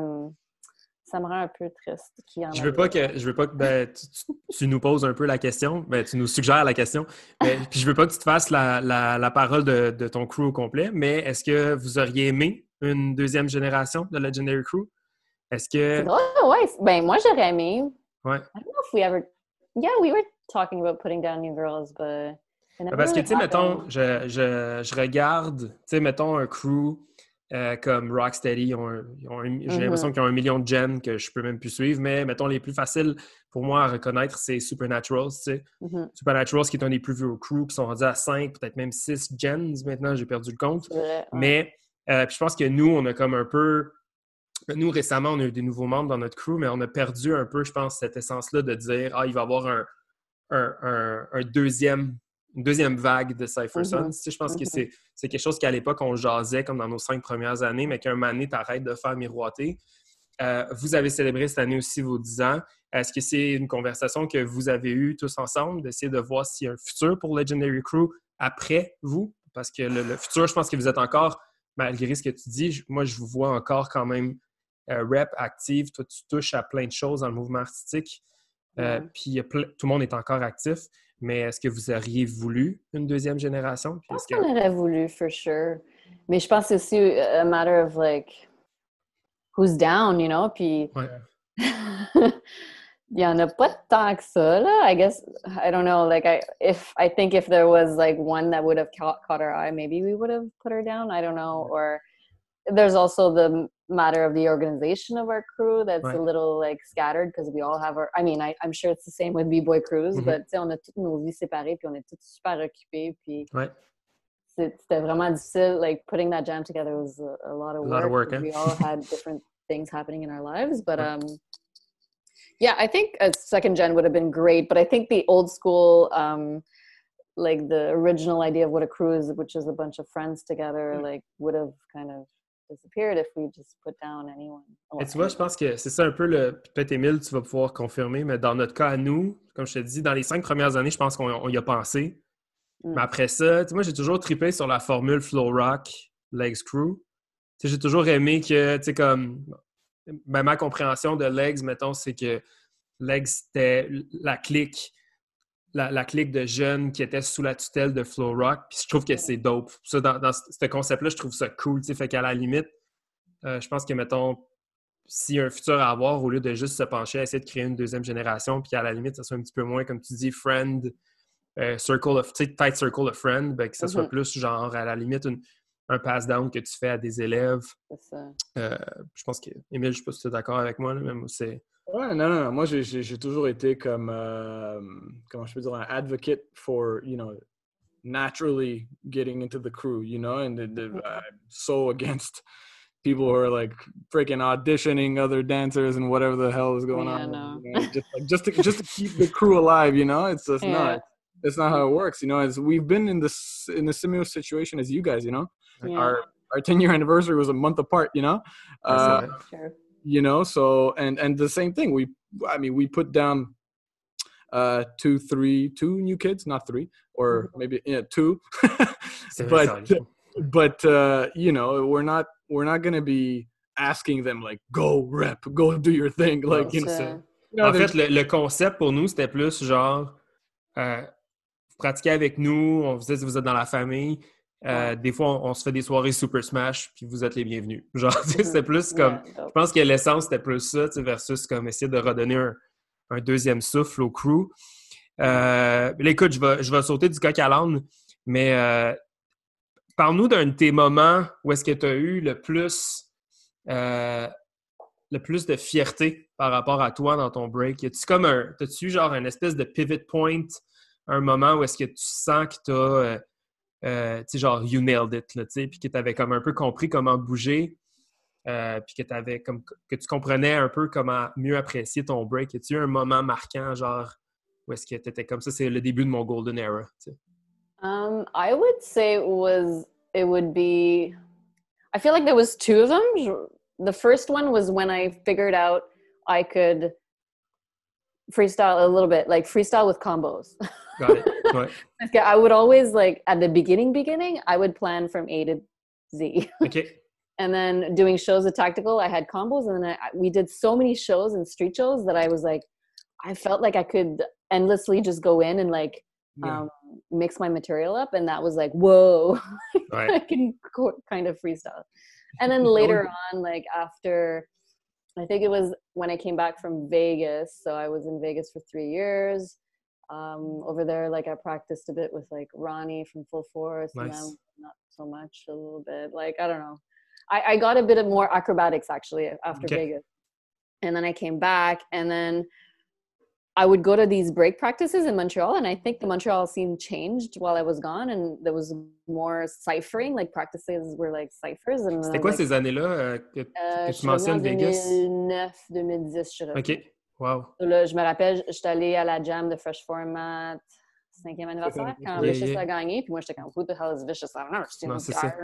ça me rend un peu triste qu'il y en Je veux pas que ben, tu nous poses un peu la question, ben, tu nous suggères la question, puis je veux pas que tu te fasses la parole de ton crew au complet, mais est-ce que vous auriez aimé une deuxième génération de Legendary Crew? Est-ce que... C'est drôle, ouais. Ben, moi, j'aurais aimé. Ouais. I don't know if we ever... Yeah, we were talking about putting down new girls, but... Parce que, tu sais, mettons, je regarde, tu sais, mettons un crew comme Rocksteady, j'ai l'impression qu'ils ont 1 million de gens que je peux même plus suivre, mais mettons, les plus faciles pour moi à reconnaître, c'est Supernaturals, tu sais. Supernaturals qui est un des plus vieux crews, qui sont rendus à 5, peut-être même 6 gens maintenant, j'ai perdu le compte. Vrai, ouais. Mais puis je pense que nous, on a comme un peu... Nous, récemment, on a eu des nouveaux membres dans notre crew, mais on a perdu un peu, je pense, cette essence-là de dire « Ah, il va y avoir une deuxième vague de Cypher Sons. Tu sais, je pense que c'est quelque chose qu'à l'époque, on jasait comme dans nos 5 premières années, mais qu'un moment donné, t'arrêtes de faire miroiter. Vous avez célébré cette année aussi vos 10 ans. Est-ce que c'est une conversation que vous avez eue tous ensemble, d'essayer de voir s'il y a un futur pour Legendary Crew après vous? Parce que le futur, je pense que vous êtes encore, malgré ce que tu dis, moi, je vous vois encore quand même rep, active. Toi, tu touches à plein de choses dans le mouvement artistique. Puis tout le monde est encore actif. Mais est-ce que vous auriez voulu une deuxième génération? Je pense qu'on aurait voulu, for sure. Mais je pense que c'est aussi a matter of, like, who's down, you know? Puis, il y en a pas tant que ça, là. I guess, I don't know, like, I think if there was, like, one that would have caught our eye, maybe we would have put her down. I don't know. Or there's also the matter of the organization of our crew that's a little like scattered because we all have I'm sure it's the same with B-Boy crews, but on a toutes nos vies séparées puis on est tous super occupés puis c'était vraiment difficile. Like putting that jam together was a lot of work. We all had different things happening in our lives, but yeah, I think a second gen would have been great, but I think the old school like the original idea of what a crew is, which is a bunch of friends together, like would have kind of disappeared if we just put down anyone. Et tu vois, je pense que c'est ça un peu peut-être Émile, tu vas pouvoir confirmer, mais dans notre cas à nous, comme je te dis, dans les 5 premières années, je pense qu'on y a pensé. Mais après ça, tu sais, moi, j'ai toujours trippé sur la formule Flow Rock, Legs Crew. Tu sais, j'ai toujours aimé que, tu sais, comme... Ben, ma compréhension de Legs, mettons, c'est que Legs, c'était la clique de jeunes qui étaient sous la tutelle de Flow Rock. Puis je trouve que c'est dope. Ça, dans ce concept-là, je trouve ça cool. T'sais. Fait qu'à la limite, je pense que, mettons, s'il y a un futur à avoir, au lieu de juste se pencher à essayer de créer une deuxième génération, puis à la limite, ça soit un petit peu moins, comme tu dis, tight circle of friend, ben, que ça soit plus genre, à la limite, un pass-down que tu fais à des élèves. C'est ça. Je pense que, Émile, je sais pas si tu es d'accord avec moi, là, mais moi, c'est... Ouais, non. Moi, j'ai toujours été comme, comment je peux dire, un advocate for, you know, naturally getting into the crew, you know, and I'm so against people who are like freaking auditioning other dancers and whatever the hell is going on. No. You know, just to keep the crew alive, you know, it's just not. That's not how it works, you know. As we've been in a similar situation as you guys, you know. Yeah. Our 10-year anniversary was a month apart, you know. Sure. You know, so and the same thing. We put down 2 new kids, not 3, or maybe 2. but you know, we're not gonna be asking them like go rep, go do your thing, like you know. En fait, le concept pour nous c'était plus genre vous pratiquez avec nous, on vous dit si vous êtes dans la famille. Des fois, on se fait des soirées Super Smash, puis vous êtes les bienvenus. Genre, c'était plus comme... Je pense que l'essence, c'était plus ça, versus comme essayer de redonner un deuxième souffle au crew. Là, écoute, je vais sauter du coq à l'âne, mais parle-nous d'un de tes moments où est-ce que tu as eu le plus de fierté par rapport à toi dans ton break. T'as-tu eu genre un espèce de pivot point, un moment où est-ce que tu sens que t'as... tu sais, genre, you nailed it, là, tu sais, puis que tu avais comme un peu compris comment bouger, puis que tu comprenais un peu comment mieux apprécier ton break. As-tu eu un moment marquant, genre, où est-ce que tu étais comme ça? C'est le début de mon golden era, tu sais. I would say it would be... I feel like there was 2 of them. The first one was when I figured out I could freestyle a little bit, like freestyle with combos. Got it. Ouais. Parce que I would always, like, at the beginning, I would plan from A to Z. OK. And then doing shows at Tactical, I had combos. And then we did so many shows and street shows that I was like, I felt like I could endlessly just go in and, like, mix my material up. And that was like, whoa, I can kind of freestyle. And then later on, like after, I think it was when I came back from Vegas. So I was in Vegas for 3 years. Over there, like I practiced a bit with like Ronnie from Full Force. Nice. And then not so much, a little bit. Like, I don't know. I got a bit of more acrobatics actually after Vegas. And then I came back, and then I would go to these break practices in Montreal, and I think the Montreal scene changed while I was gone, and there was more ciphering, like practices were like ciphers. C'était quoi ces années-là que tu mentionnes, Vegas? 2009, 2010, je dirais. OK. Wow. Là, je me rappelle, j'étais allée à la jam de Fresh Format, 5e anniversaire, quand Vicious a gagné, puis moi, j'étais comme, who the hell is Vicious? I don't know. Non, c'est ça.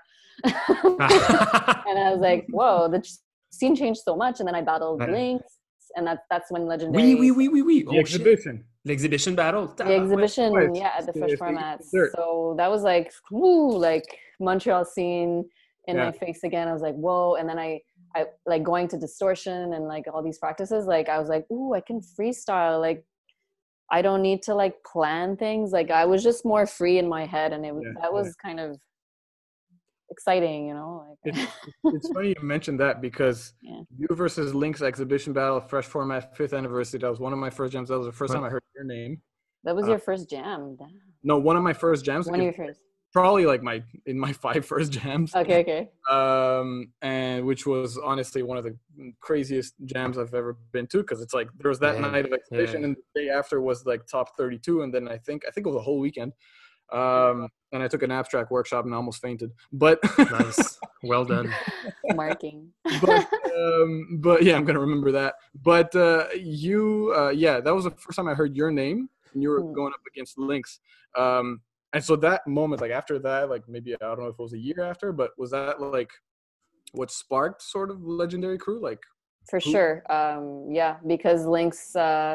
And I was like, whoa, the scene changed so much, and then I battled Lynx. And that's when Legendary... Oui. The exhibition. L'exhibition battle. The exhibition, at the Fresh Format. So that was like, woo, like Montreal scene in my face again. I was like, whoa. And then I like going to Distortion and like all these practices, like I was like, ooh, I can freestyle. Like I don't need to like plan things. Like I was just more free in my head. And that was kind of exciting, you know. Like it's funny you mentioned that because you versus Lynx exhibition battle, Fresh Format 5th anniversary. That was one of my first jams. That was the first time I heard your name. That was your first jam. Damn. No, one of my first jams. One of your first. Probably like in my 5 first jams. Okay. And which was honestly one of the craziest jams I've ever been to, because it's like there was that night of exhibition and the day after was like top 32, and then I think it was a whole weekend. And I took an abstract workshop and I almost fainted. But nice, well done. Marking. But yeah, I'm gonna remember that. But that was the first time I heard your name, and you were going up against Lynx. And so that moment, like after that, like maybe I don't know if it was a year after, but was that like what sparked sort of Legendary Crew? Like for sure, because Lynx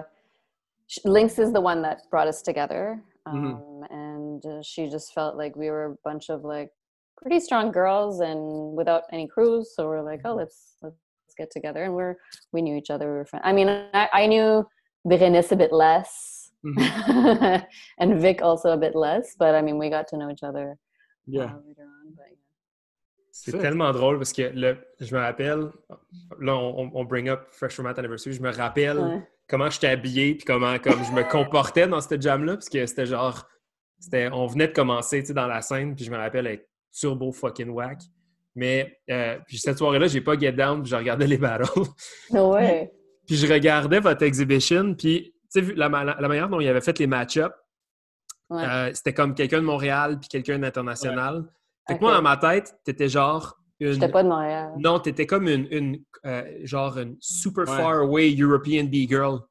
is the one that brought us together. And she just felt like we were a bunch of like pretty strong girls and without any crews. So we're like, oh, let's get together. And we knew each other. We were friends. I mean, I knew Berenice a bit less, and Vic also a bit less. But I mean, we got to know each other later on. But, C'est tellement drôle parce que je me rappelle, là, on bring up Fresh Format Anniversary, je me rappelle comment j'étais habillé puis comme je me comportais dans cette jam-là, parce que c'était genre, on venait de commencer, tu sais, dans la scène, puis je me rappelle être turbo fucking whack. Mais puis cette soirée-là, j'ai pas get down, puis je regardais les battles. No way. Puis je regardais votre exhibition, puis tu sais, la manière dont il avait fait les match-ups, c'était comme quelqu'un de Montréal puis quelqu'un d'international. Fait que moi, dans ma tête, t'étais genre J'étais pas de Montréal. Non, t'étais comme une super far away European B-girl.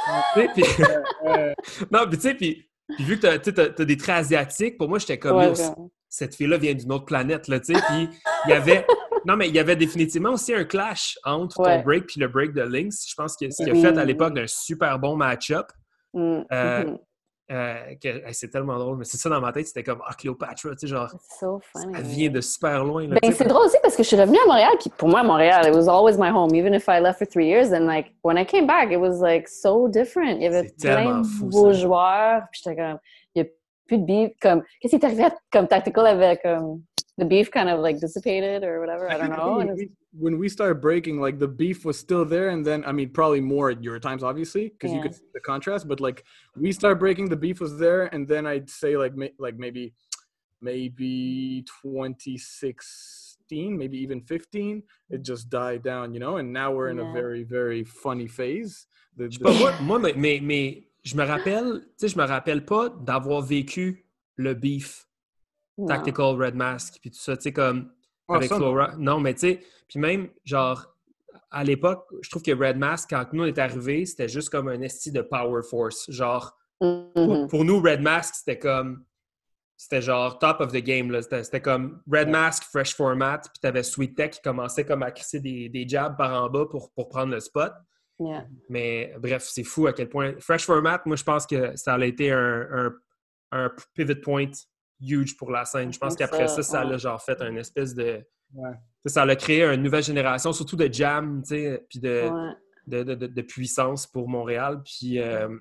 Non, puis tu sais, puis vu que t'as des traits asiatiques, pour moi, j'étais comme cette fille-là vient d'une autre planète, là, tu sais. Puis il y avait définitivement aussi un clash entre ton break puis le break de Lynx. Je pense que ce qu'il a fait à l'époque d'un super bon match-up. C'est tellement drôle, mais c'est ça dans ma tête, c'était comme Cléopatra, tu sais, genre so funny. Elle vient de super loin. Là, c'est drôle aussi parce que je suis revenue à Montréal, puis pour moi, Montréal, it was always my home, even if I left for 3 years, and like, when I came back, it was like so different. Il y avait plein de beaux joueurs, puis j'étais comme, il n'y a plus de beef, comme, qu'est-ce qui est arrivé comme Tactical avec, the beef kind of like dissipated or whatever, I don't know. When we started breaking, like the beef was still there, and then I mean probably more at your times, obviously, because you could see the contrast. But like we started breaking, the beef was there, and then I'd say like maybe 2016, maybe even 15, it just died down, you know. And now we're in a very very funny phase. Moi, mais je me rappelle pas d'avoir vécu le beef. Tactical, Red Mask, puis tout ça, tu sais, comme avec Flora. Non, mais tu sais, puis même, genre, à l'époque, je trouve que Red Mask, quand nous on est arrivés, c'était juste comme un esti de Power Force. Genre, pour nous, Red Mask, c'était genre top of the game, là. C'était comme Red Mask, Fresh Format, puis t'avais Sweet Tech qui commençait comme à crisser des jabs par en bas pour prendre le spot. Yeah. Mais bref, c'est fou à quel point. Fresh Format, moi, je pense que ça a été un pivot point huge pour la scène. Je pense qu'après ça l'a genre fait un espèce de... Ouais. Ça a créé une nouvelle génération, surtout de jam, tu sais, puis de puissance pour Montréal. Puis...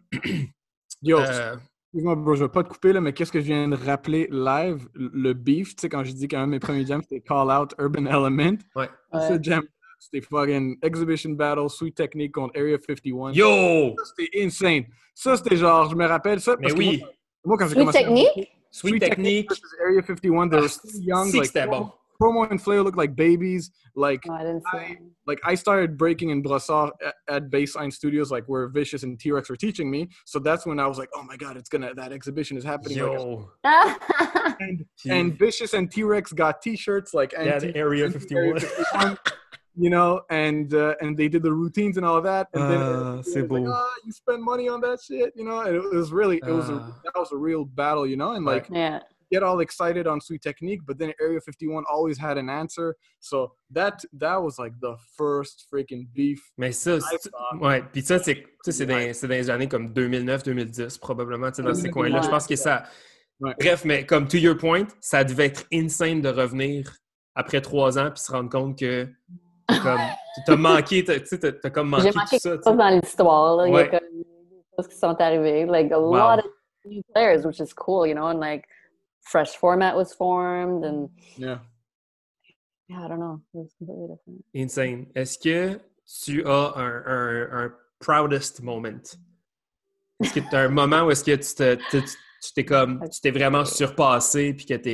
Yo, excuse-moi, bro, je vais pas te couper, là, mais qu'est-ce que je viens de rappeler live? Le beef, tu sais, quand je dis qu'un de mes premiers jams, c'était Call Out Urban Element. Ouais. Ce jam, c'était fucking Exhibition Battle, Sweet Technique contre Area 51. Yo! Ça, c'était insane. Ça, c'était genre, je me rappelle ça. Mais parce oui! que moi, quand j'ai Sweet commencé Technique? Sweet Technique versus Area 51, they were still young. Si Like, c'était bon. Promo and Flair looked like babies. Like, No, I didn't see it. I started breaking in Brossard at Baseline Studios, like where Vicious and T-Rex were teaching me. So that's when I was like, oh my God, that exhibition is happening. Yo! And Vicious and T-Rex got T-shirts like the Area 51. You know, and they did the routines and all of that. And then c'est it was beau. like, you spend money on that shit, you know. And it was really, that was a real battle, you know. And like, Yeah. get all excited on Sweet Technique, but then Area 51 always had an answer. So that was like the first freaking beef. Mais ça, ouais. Puis ça, c'est dans les années comme 2009-2010, probablement, tu sais, dans ces coins-là. Je pense que ça... Ouais. Bref, mais comme to your point, ça devait être insane de revenir après 3 ans puis se rendre compte que t'as manqué, t'as comme manqué J'ai manqué tout ça. quelque chose dans l'histoire. Là. Ouais. Il y a comme des choses qui sont arrivées. Like a lot of new players, which is cool, you know, and like Fresh Format was formed and Yeah, I don't know. It was completely different. Insane. Est-ce que tu as un proudest moment? Est-ce que tu as un moment où est-ce que tu t'es vraiment surpassé puis que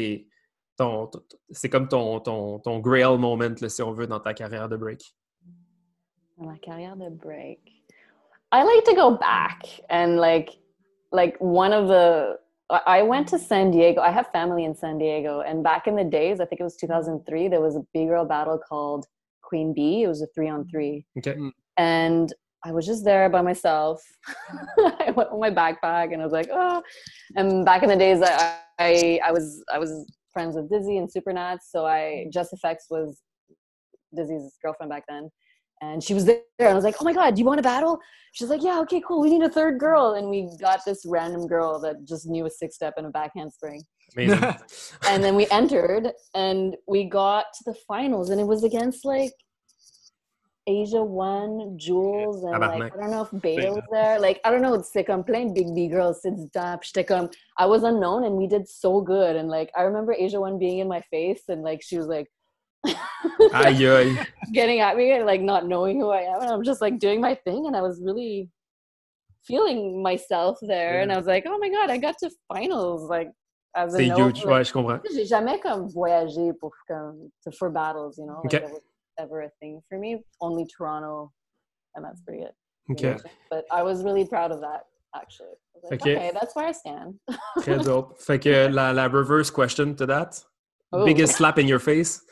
c'est comme ton grail moment, là, si on veut, dans ta carrière de break? Dans ma carrière de break. I like to go back and like one of the I went to San Diego. I have family in San Diego. And back in the days, I think it was 2003, there was a B-girl battle called Queen Bee. It was a 3-on-3. Okay. And I was just there by myself. I went with my backpack and I was like, oh. And back in the days, I was friends with Dizzy and Supernats. So Just Effects was Dizzy's girlfriend back then. And she was there, and I was like, oh my God, do you want to battle? She's like, yeah, okay, cool. We need a third girl. And we got this random girl that just knew a 6-step and a back handspring. Amazing. And then we entered, and we got to the finals, and it was against, like, Asia One, Jules, and, like, I don't know if Beta was there. Like, I don't know, it's like I'm playing Big B Girls, sits up, I was unknown, and we did so good. And, like, I remember Asia One being in my face, and, like, she was like, Aïe, aïe. getting at me and like not knowing who I am, and I'm just like doing my thing, and I was really feeling myself there, and I was like, oh my God, I got to finals, like as a C'est note, huge, like, ouais, je comprends. J'ai jamais comme voyagé for battles, you know, like Okay. that was ever a thing for me, only Toronto, and that's pretty it. Okay. But I was really proud of that, actually. I was like, okay, that's where I stand. Très dope. Fait que la reverse question to that, Ooh. biggest slap in your face?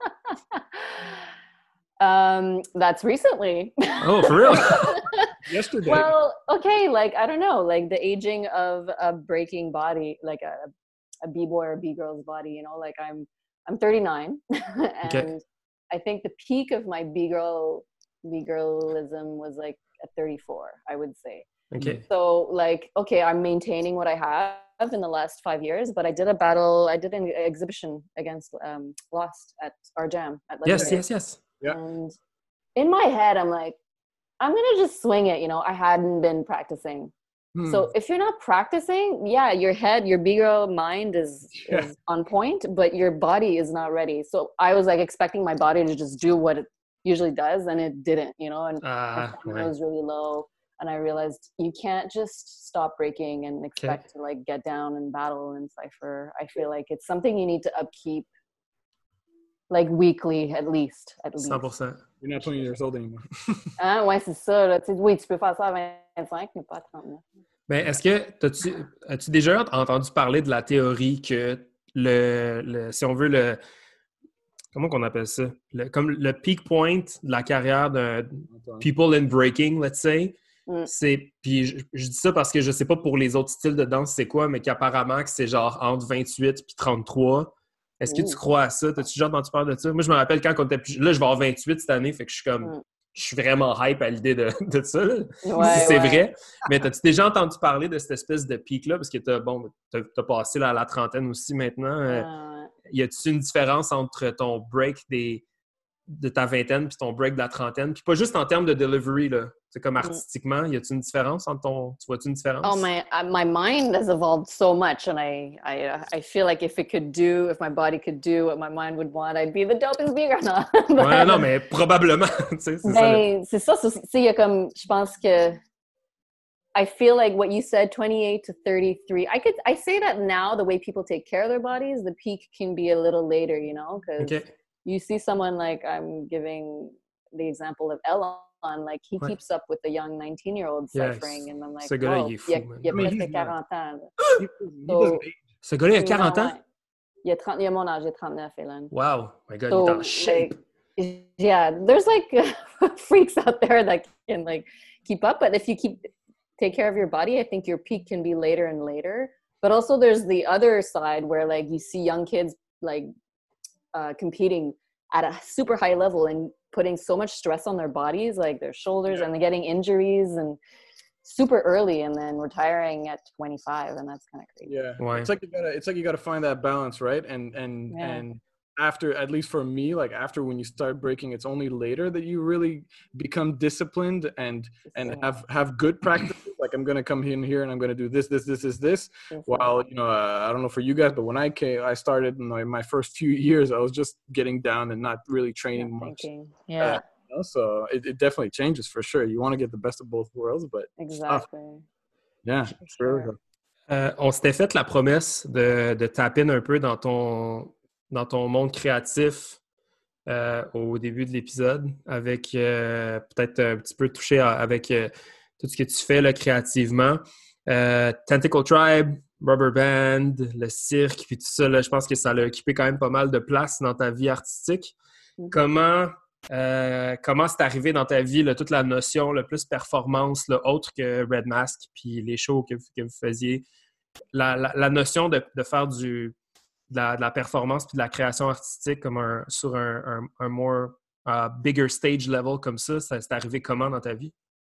That's recently. Oh, for real? yesterday. Well, okay, like I don't know, like the aging of a breaking body, like a b-boy or b-girl's body, you know, like I'm 39 and Okay. I think the peak of my b-girlism was like at 34, I would say. Okay. So like, okay, I'm maintaining what I have in the last 5 years, but I did an exhibition against Lost at our jam at Legendary. Yes. Yeah. And in my head, I'm like, I'm going to just swing it. You know, I hadn't been practicing. So if you're not practicing, yeah, your head, your B-girl mind is on point, but your body is not ready. So I was like expecting my body to just do what it usually does, and it didn't, you know, and my stamina was really low. And I realized you can't just stop breaking and expect to like get down and battle and Cypher. I feel like it's something you need to upkeep like weekly at least. 100%. You're not 20 years old anymore. Ouais, c'est ça. Là. Oui, tu peux faire ça à 25, mais pas à 39. Mais est-ce que as-tu déjà entendu parler de la théorie que si on veut comment qu'on appelle ça? Comme le peak point de la carrière d'un people in breaking, let's say, puis je dis ça parce que je sais pas pour les autres styles de danse c'est quoi, mais qu'apparemment que c'est genre entre 28 puis 33. Est-ce que tu crois à ça? T'as-tu déjà entendu parler de ça? Moi, je me rappelle quand on était plus... Là, je vais avoir 28 cette année, fait que je suis comme... je suis vraiment hype à l'idée de ça, là, si Ouais, c'est ouais. vrai. Mais t'as-tu déjà entendu parler de cette espèce de pic-là? Parce que t'as passé là, à la trentaine aussi maintenant. Ouais. Y a-t-il une différence entre ton break de ta vingtaine puis ton break de la trentaine? Puis pas juste en termes de delivery, là. C'est comme artistiquement, y a-t-il une différence entre tu vois-tu une différence? Oh, my mind has evolved so much, and I feel like if my body could do what my mind would want, I'd be the dopest speaker. No, Ouais, non, mais probablement, tu sais, c'est ça. ben, c'est ça. Il y a comme, je pense que I feel like what you said, 28 to 33. I say that now, the way people take care of their bodies, the peak can be a little later, you know, because OK. you see someone like, I'm giving the example of Elon, like he Ouais. keeps up with a young 19-year-old ciphering, and I'm like, Ce gars-là, whoa, il est fou, man. il a I mean, presque he's 40 not. ans. He doesn't age. Ce gars-là, il a 40 Non, ans? ouais. Il a mon âge, j'ai 39, Elon. Wow! My God, So, il est en shape! like, yeah, there's like freaks out there that can like keep up, but if you take care of your body, I think your peak can be later and later. But also there's the other side where like you see young kids like competing at a super high level and putting so much stress on their bodies, like their shoulders, and they're getting injuries and super early and then retiring at 25, and that's kind of crazy. Yeah, Ouais. it's like you gotta find that balance, right? And after, at least for me, like after when you start breaking, it's only later that you really become disciplined and have good practices. Like I'm gonna come in here and I'm gonna do this. While I don't know for you guys, but when I started in my first few years, I was just getting down and not really training much. Yeah. So it definitely changes for sure. You want to get the best of both worlds, but Exactly. Yeah, sure. On s'était fait la promesse de taper un peu dans ton monde créatif au début de l'épisode, avec peut-être un petit peu touché avec tout ce que tu fais là, créativement. Tentacle Tribe, Rubber Band, le cirque, puis tout ça, là, je pense que ça a occupé quand même pas mal de place dans ta vie artistique. Mm-hmm. Comment c'est arrivé dans ta vie, là, toute la notion, le plus performance, là, autre que Red Mask, puis les shows que vous faisiez, la notion de faire de la performance puis de la création artistique comme sur un more bigger stage level comme ça, c'est arrivé comment dans ta vie?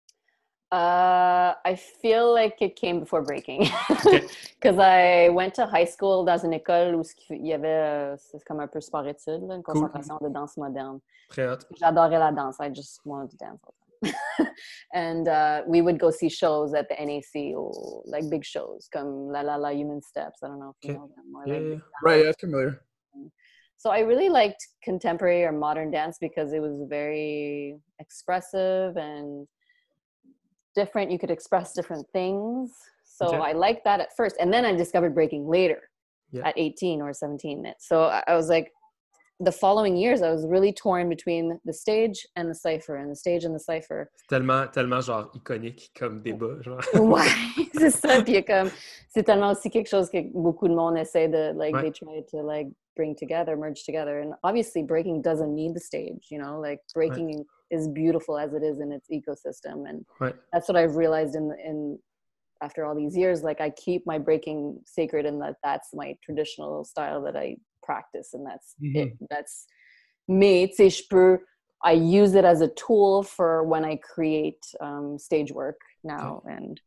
I feel like it came before breaking because I went to high school dans une école où il y avait c'est comme un peu sport-études, une concentration de danse moderne. Très hot. J'adorais la danse. I just wanted to dance all the time. And we would go see shows at the NAC or like big shows comme La La La Human Steps. I don't know if you know them. Yeah. Right, that's familiar. So I really liked contemporary or modern dance because it was very expressive and different. You could express different things. So I liked that at first. And then I discovered breaking later at 18 or 17. So I was like, the following years, I was really torn between the stage and the cypher, and the stage and the cypher. C'est tellement genre iconique comme débat, genre. Ouais, c'est ça. Puis comme, c'est tellement aussi quelque chose que beaucoup de monde essaie de, like, they try to, like, bring together, merge together. And obviously, breaking doesn't need the stage, you know? Like, breaking is beautiful as it is in its ecosystem. And that's what I've realized in after all these years. Like, I keep my breaking sacred, and that's my traditional style that I practice, and that's it. That's me. Tu sais, I use it as a tool for when I create stage work now, and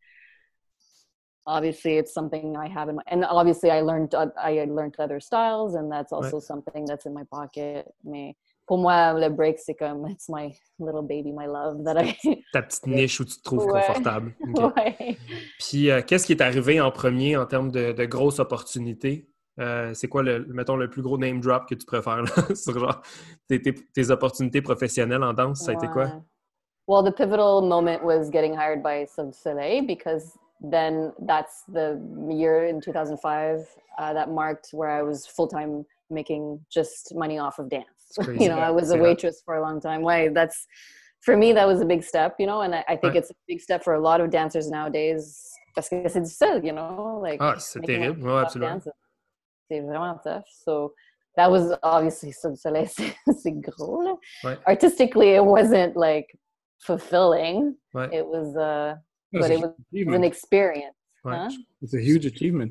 obviously it's something I have and obviously I learned other styles, and that's also something that's in my pocket. Mais pour moi, le break, c'est comme, it's my little baby, my love. That ta petite niche où tu te trouves confortable. Okay. Ouais. Puis, qu'est-ce qui est arrivé en premier en termes de grosses opportunités? C'est quoi, mettons, le plus gros name drop que tu préfères là, sur genre tes opportunités professionnelles en danse? Ça a été quoi? Well, the pivotal moment was getting hired by Cirque du Soleil, because then that's the year in 2005 that marked where I was full-time making just money off of dance. You know, I was a waitress for a long time. For me, that was a big step, you know, and I think it's a big step for a lot of dancers nowadays. Parce que c'est difficile, you know, like. C'est terrible, ouais, absolument. C'est vraiment tough. So that was obviously Cirque du Soleil, c'est gros, là. Ouais. Artistically, it wasn't like fulfilling. Ouais. It was, but it was an experience. Ouais. Huh? It's a huge achievement.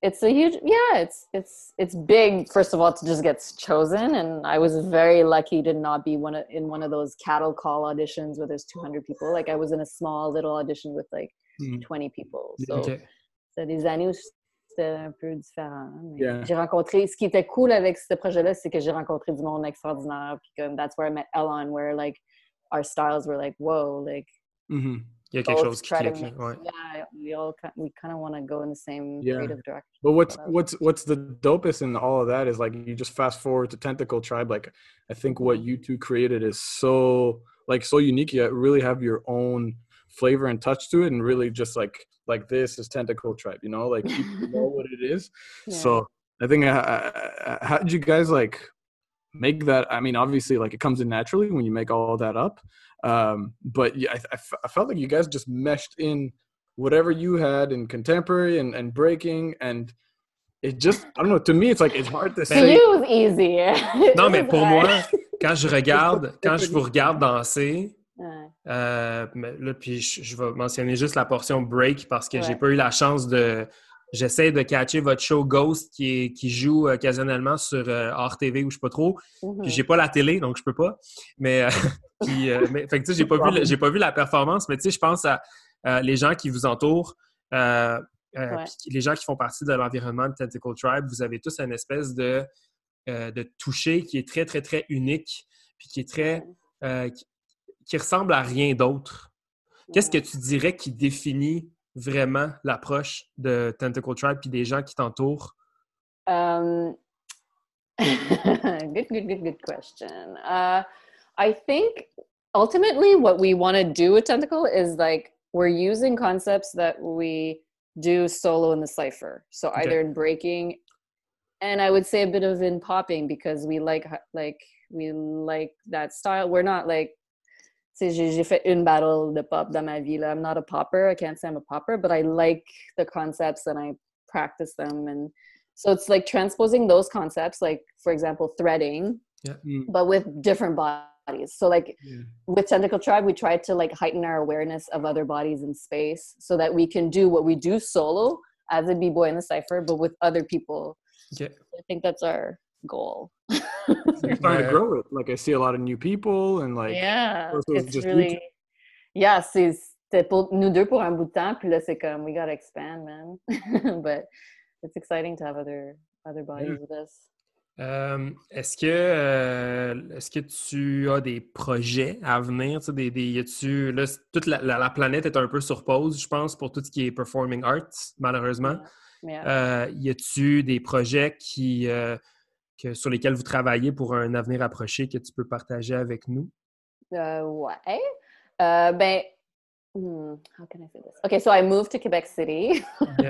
it's a huge, yeah, it's big, first of all, to just get chosen. And I was very lucky to not be in one of those cattle call auditions where there's 200 people. Like I was in a small little audition with like 20 people. So c'est des années où c'était un peu différent. Mais j'ai rencontré, ce qui était cool avec ce projet-là, c'est que j'ai rencontré du monde extraordinaire. Puis comme, that's where I met Ellen, where like our styles were like, whoa, like. Il y a quelque chose qui clique. Ouais. Yeah, we kind of want to go in the same creative direction. But what's the dopest in all of that is like you just fast forward to Tentacle Tribe. Like I think what you two created is so unique. You really have your own flavor and touch to it, and really just like this is Tentacle Tribe. You know, like people know what it is. Yeah. So I think how did you guys like make that? I mean, obviously, like it comes in naturally when you make all that up. But yeah, I felt like you guys just meshed in whatever you had in contemporary and breaking, and it just, I don't know, to me it's like it's hard to say. It was easy. Non, mais pour moi, quand je vous regarde danser, là, puis je vais mentionner juste la portion break parce que j'ai pas eu la chance de. J'essaie de catcher votre show Ghost qui joue occasionnellement sur Art TV ou je sais pas trop. Puis j'ai pas la télé, donc je peux pas. Mais, fait que tu sais, j'ai pas vu la performance, mais tu sais, je pense à les gens qui vous entourent, les gens qui font partie de l'environnement de Tentacle Tribe. Vous avez tous une espèce de toucher qui est très, très, très unique, puis qui est très... qui ressemble à rien d'autre. Qu'est-ce que tu dirais qui définit vraiment l'approche de Tentacle Tribe puis des gens qui t'entourent? Good question. I think ultimately what we want to do with Tentacle is like we're using concepts that we do solo in the cypher. So either in breaking, and I would say a bit of in popping because we like that style. We're not like, j'ai fait une battle de pop dans ma vie. Là. I'm not a popper. I can't say I'm a popper, but I like the concepts and I practice them. And so it's like transposing those concepts, like, for example, threading, but with different bodies. So like with Tentacle Tribe, we try to like heighten our awareness of other bodies in space so that we can do what we do solo as a b-boy in the cypher, but with other people. I think that's our goal. You're starting to grow it. Like I see a lot of new people and like it's just really c'était pour nous deux pour un bout de temps puis là c'est comme we gotta expand, man. But it's exciting to have other bodies with us. Est-ce que tu as des projets à venir? Là, toute la planète est un peu sur pause, je pense, pour tout ce qui est performing arts, malheureusement. Y a-tu des projets sur lesquels vous travaillez pour un avenir approché que tu peux partager avec nous? Ouais. How can I say this? Okay, so I moved to Quebec City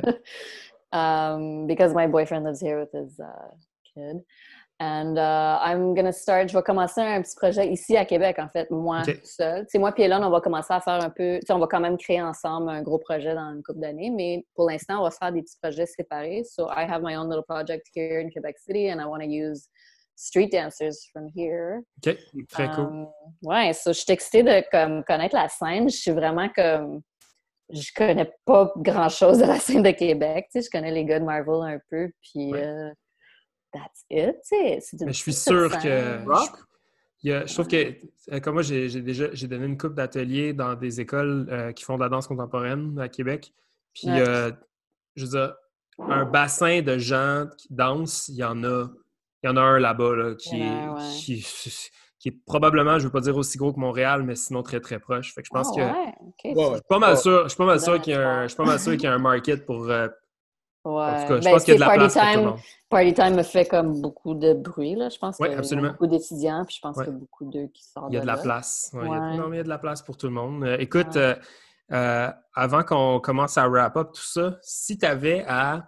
because my boyfriend lives here with his kid. And je vais commencer un petit projet ici à Québec, en fait, moi seule. Moi puis Elon, on va commencer à faire un peu... On va quand même créer ensemble un gros projet dans une couple d'années, mais pour l'instant, on va faire des petits projets séparés. So I have my own little project here in Quebec City and I want to use street dancers from here. OK, très cool. Ouais, so je suis excitée de connaître la scène. Je suis vraiment comme... Je connais pas grand-chose de la scène de Québec. Je connais les gars de Marvel un peu, puis... That's it. Mais je suis sûr que... Je trouve que, comme moi, j'ai donné une couple d'ateliers dans des écoles qui font de la danse contemporaine à Québec. Puis, je veux dire, un bassin de gens qui dansent, il y en a un là-bas là, qui est probablement, je ne veux pas dire aussi gros que Montréal, mais sinon très, très proche. Fait que je pense que... Je suis pas mal sûr qu'il y a un market pour... En tout cas, je pense qu'il y a de la place pour tout le monde. Party Time me fait comme beaucoup de bruit, là. Je pense qu'il y a beaucoup d'étudiants, puis je pense qu'il y a beaucoup d'eux qui sortent de là. Il y a de la place. Il y a de la place pour tout le monde. Écoute, avant qu'on commence à wrap-up tout ça, si tu avais à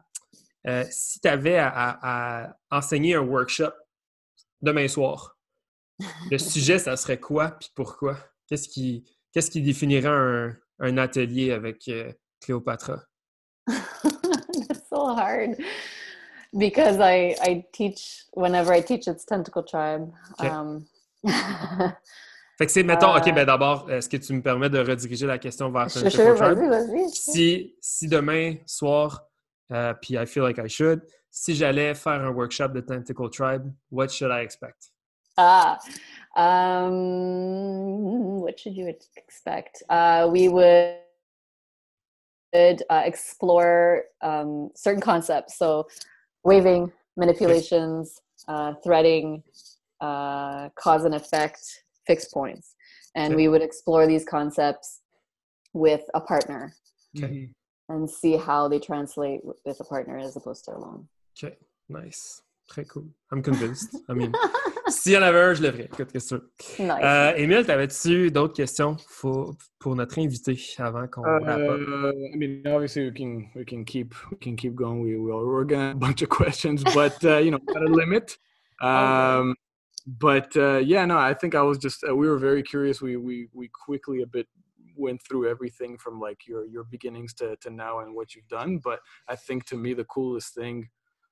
enseigner un workshop demain soir, le sujet, ça serait quoi puis pourquoi? Qu'est-ce qui définirait un atelier avec Cléopatra? That's so hard because I teach whenever I teach it's Tentacle Tribe. Fait que c'est, mettons, OK, ben d'abord, est-ce que tu me permets de rediriger la question vers Tentacle Tribe? Vas-y. Si demain soir, puis I feel like I should. Si j'allais faire un workshop de Tentacle Tribe, what should I expect? What should you expect? We would explore certain concepts. So waving, manipulations, threading, cause and effect, fixed points. And we would explore these concepts with a partner and see how they translate with a partner as opposed to alone. Okay, nice. Très cool. I'm convinced. I mean, s'il y en avait un, je le ferais. Écoute, qu'est-ce que c'est? Nice. Émile, t'avais-tu d'autres questions pour notre invité avant qu'on wrap up? I mean, obviously we can keep going. We're gonna have a bunch of questions, but you know, got a limit. But yeah, no, I think I was just we were very curious. We quickly a bit went through everything from like your beginnings to now and what you've done. But I think to me the coolest thing,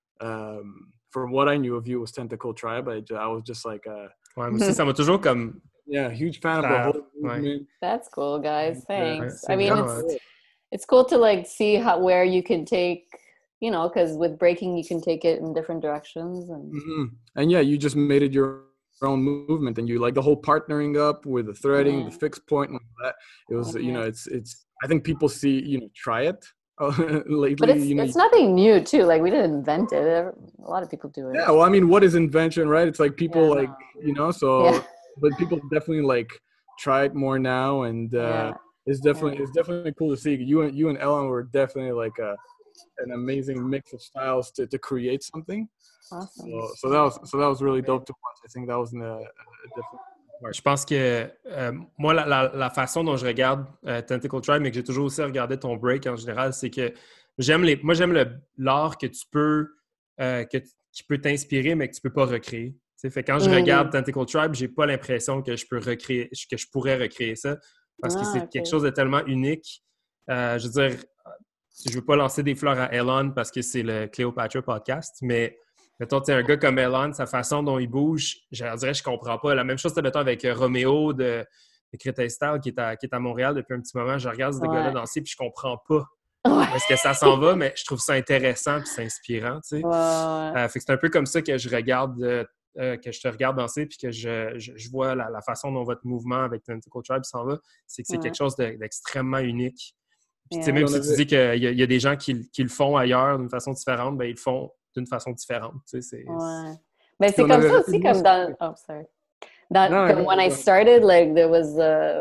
from what I knew of you, was Tentacle Tribe. I was just like, ouais, moi aussi, ça m'a toujours comme. Yeah, huge fan of the whole movement. That's cool, guys. Thanks. I mean, it's cool to like see where you can take, you know, because with breaking you can take it in different directions and yeah, you just made it your own movement, and you like the whole partnering up with the threading, the fixed point, and all that. It was you know, it's I think people see, you know, try it lately, but it's, you know, it's nothing new too. Like we didn't invent it. A lot of people do it. Yeah, well, I mean, what is invention, right? It's like people you know, so but people definitely like try it more now, and it's definitely cool to see. You and Ellen were definitely like an amazing mix of styles to create something. Awesome. So that was really dope to watch. I think that was a different part. Je pense que moi, la façon dont je regarde Tentacle Tribe, mais que j'ai toujours aussi regardé ton break en général, c'est que j'aime l'art que tu peux qui peut t'inspirer, mais que tu peux pas recréer. T'sais, fait quand je regarde Tentacle Tribe, j'ai pas l'impression que je pourrais recréer ça, parce que c'est quelque chose de tellement unique. Je veux dire, je veux pas lancer des fleurs à Elon parce que c'est le Cléopatra podcast, mais mettons, un gars comme Elon, sa façon dont il bouge, je dirais, je comprends pas. La même chose, mettons, avec Roméo de Créteil Style qui est à Montréal depuis un petit moment. Je regarde ce gars-là danser puis je comprends pas où est-ce que ça s'en va, mais je trouve ça intéressant puis c'est inspirant, tu sais. Fait que c'est un peu comme ça que je regarde, que je te regarde danser puis que je vois la façon dont votre mouvement avec Tentacle Tribe s'en va. C'est que c'est quelque chose d'extrêmement unique. Puis, tu sais, même si tu dis qu'il y a des gens qui le font ailleurs d'une façon différente, ben ils le font d'une façon différente. Tu sais, Mais c'est comme ça aussi, comme dans... Oh, sorry. When I started, like, there was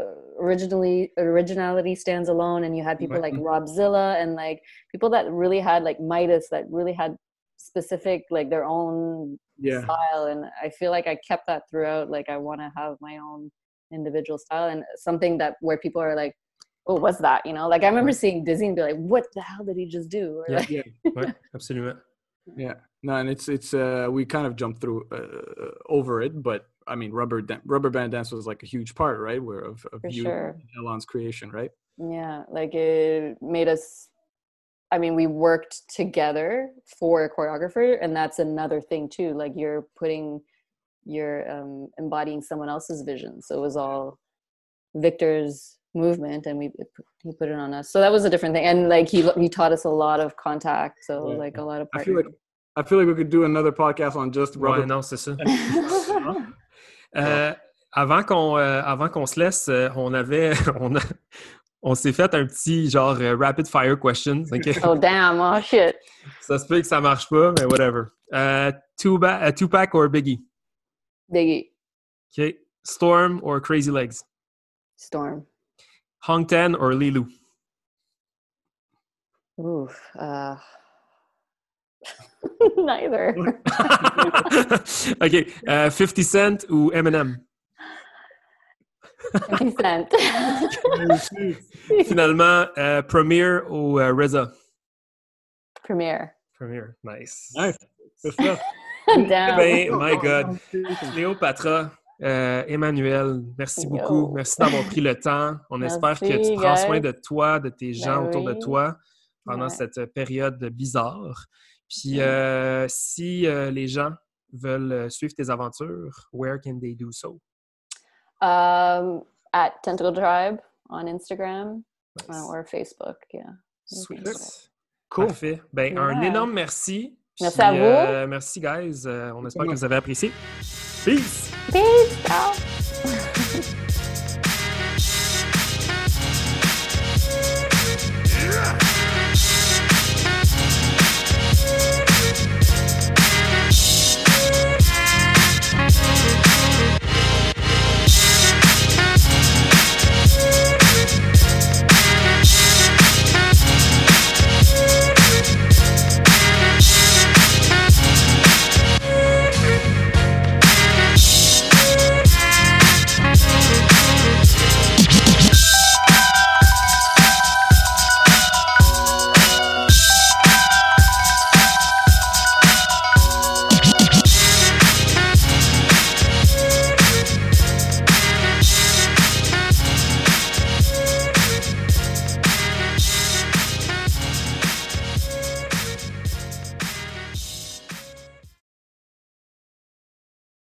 originality stands alone, and you had people like Robzilla and, like, people that really had, like, Midas, that really had specific, like, their own style. And I feel like I kept that throughout. Like, I want to have my own individual style, and something that where people are like, oh, what's that? You know, like I remember seeing Dizzy and be like, what the hell did he just do? Or Ouais, absolument. Yeah, no, and it's we kind of jumped through over it, but I mean, rubber band dance was like a huge part, right? Of you and Elon's creation, right? Yeah, like it made us. I mean, we worked together for a choreographer, and that's another thing too. Like you're embodying someone else's vision. So it was all Victor's movement, and he put it on us. So that was a different thing, and like he taught us a lot of contact. So like a lot of. I feel like we could do another podcast on just rubber. Ouais, non, c'est ça. Avant qu'on se laisse, on s'est fait un petit genre rapid fire questions. Okay? Oh damn! Oh shit! Ça se peut que ça marche pas, mais whatever. Tupac or Biggie? Biggie. Okay. Storm or Crazy Legs? Storm. Hong Ten or Lilu? Oof. Neither. OK. 50 Cent ou Eminem? 50 Cent. Finalement, Premier ou RZA? Premier. Premier. Nice. Nice. Good stuff. Damn. Ben, my God. Cléopatra, Emmanuel, merci beaucoup. Merci d'avoir pris le temps. On espère que tu prends soin de toi, de tes gens autour de toi pendant cette période bizarre. Puis, si les gens veulent suivre tes aventures, where can they do so? At Tentacle Tribe on Instagram or Facebook, Sweet. Cool. Parfait. Ben, un Yeah. énorme merci. Merci Puis, à vous. merci, guys. On espère que vous avez apprécié. Peace! Peace! Ciao!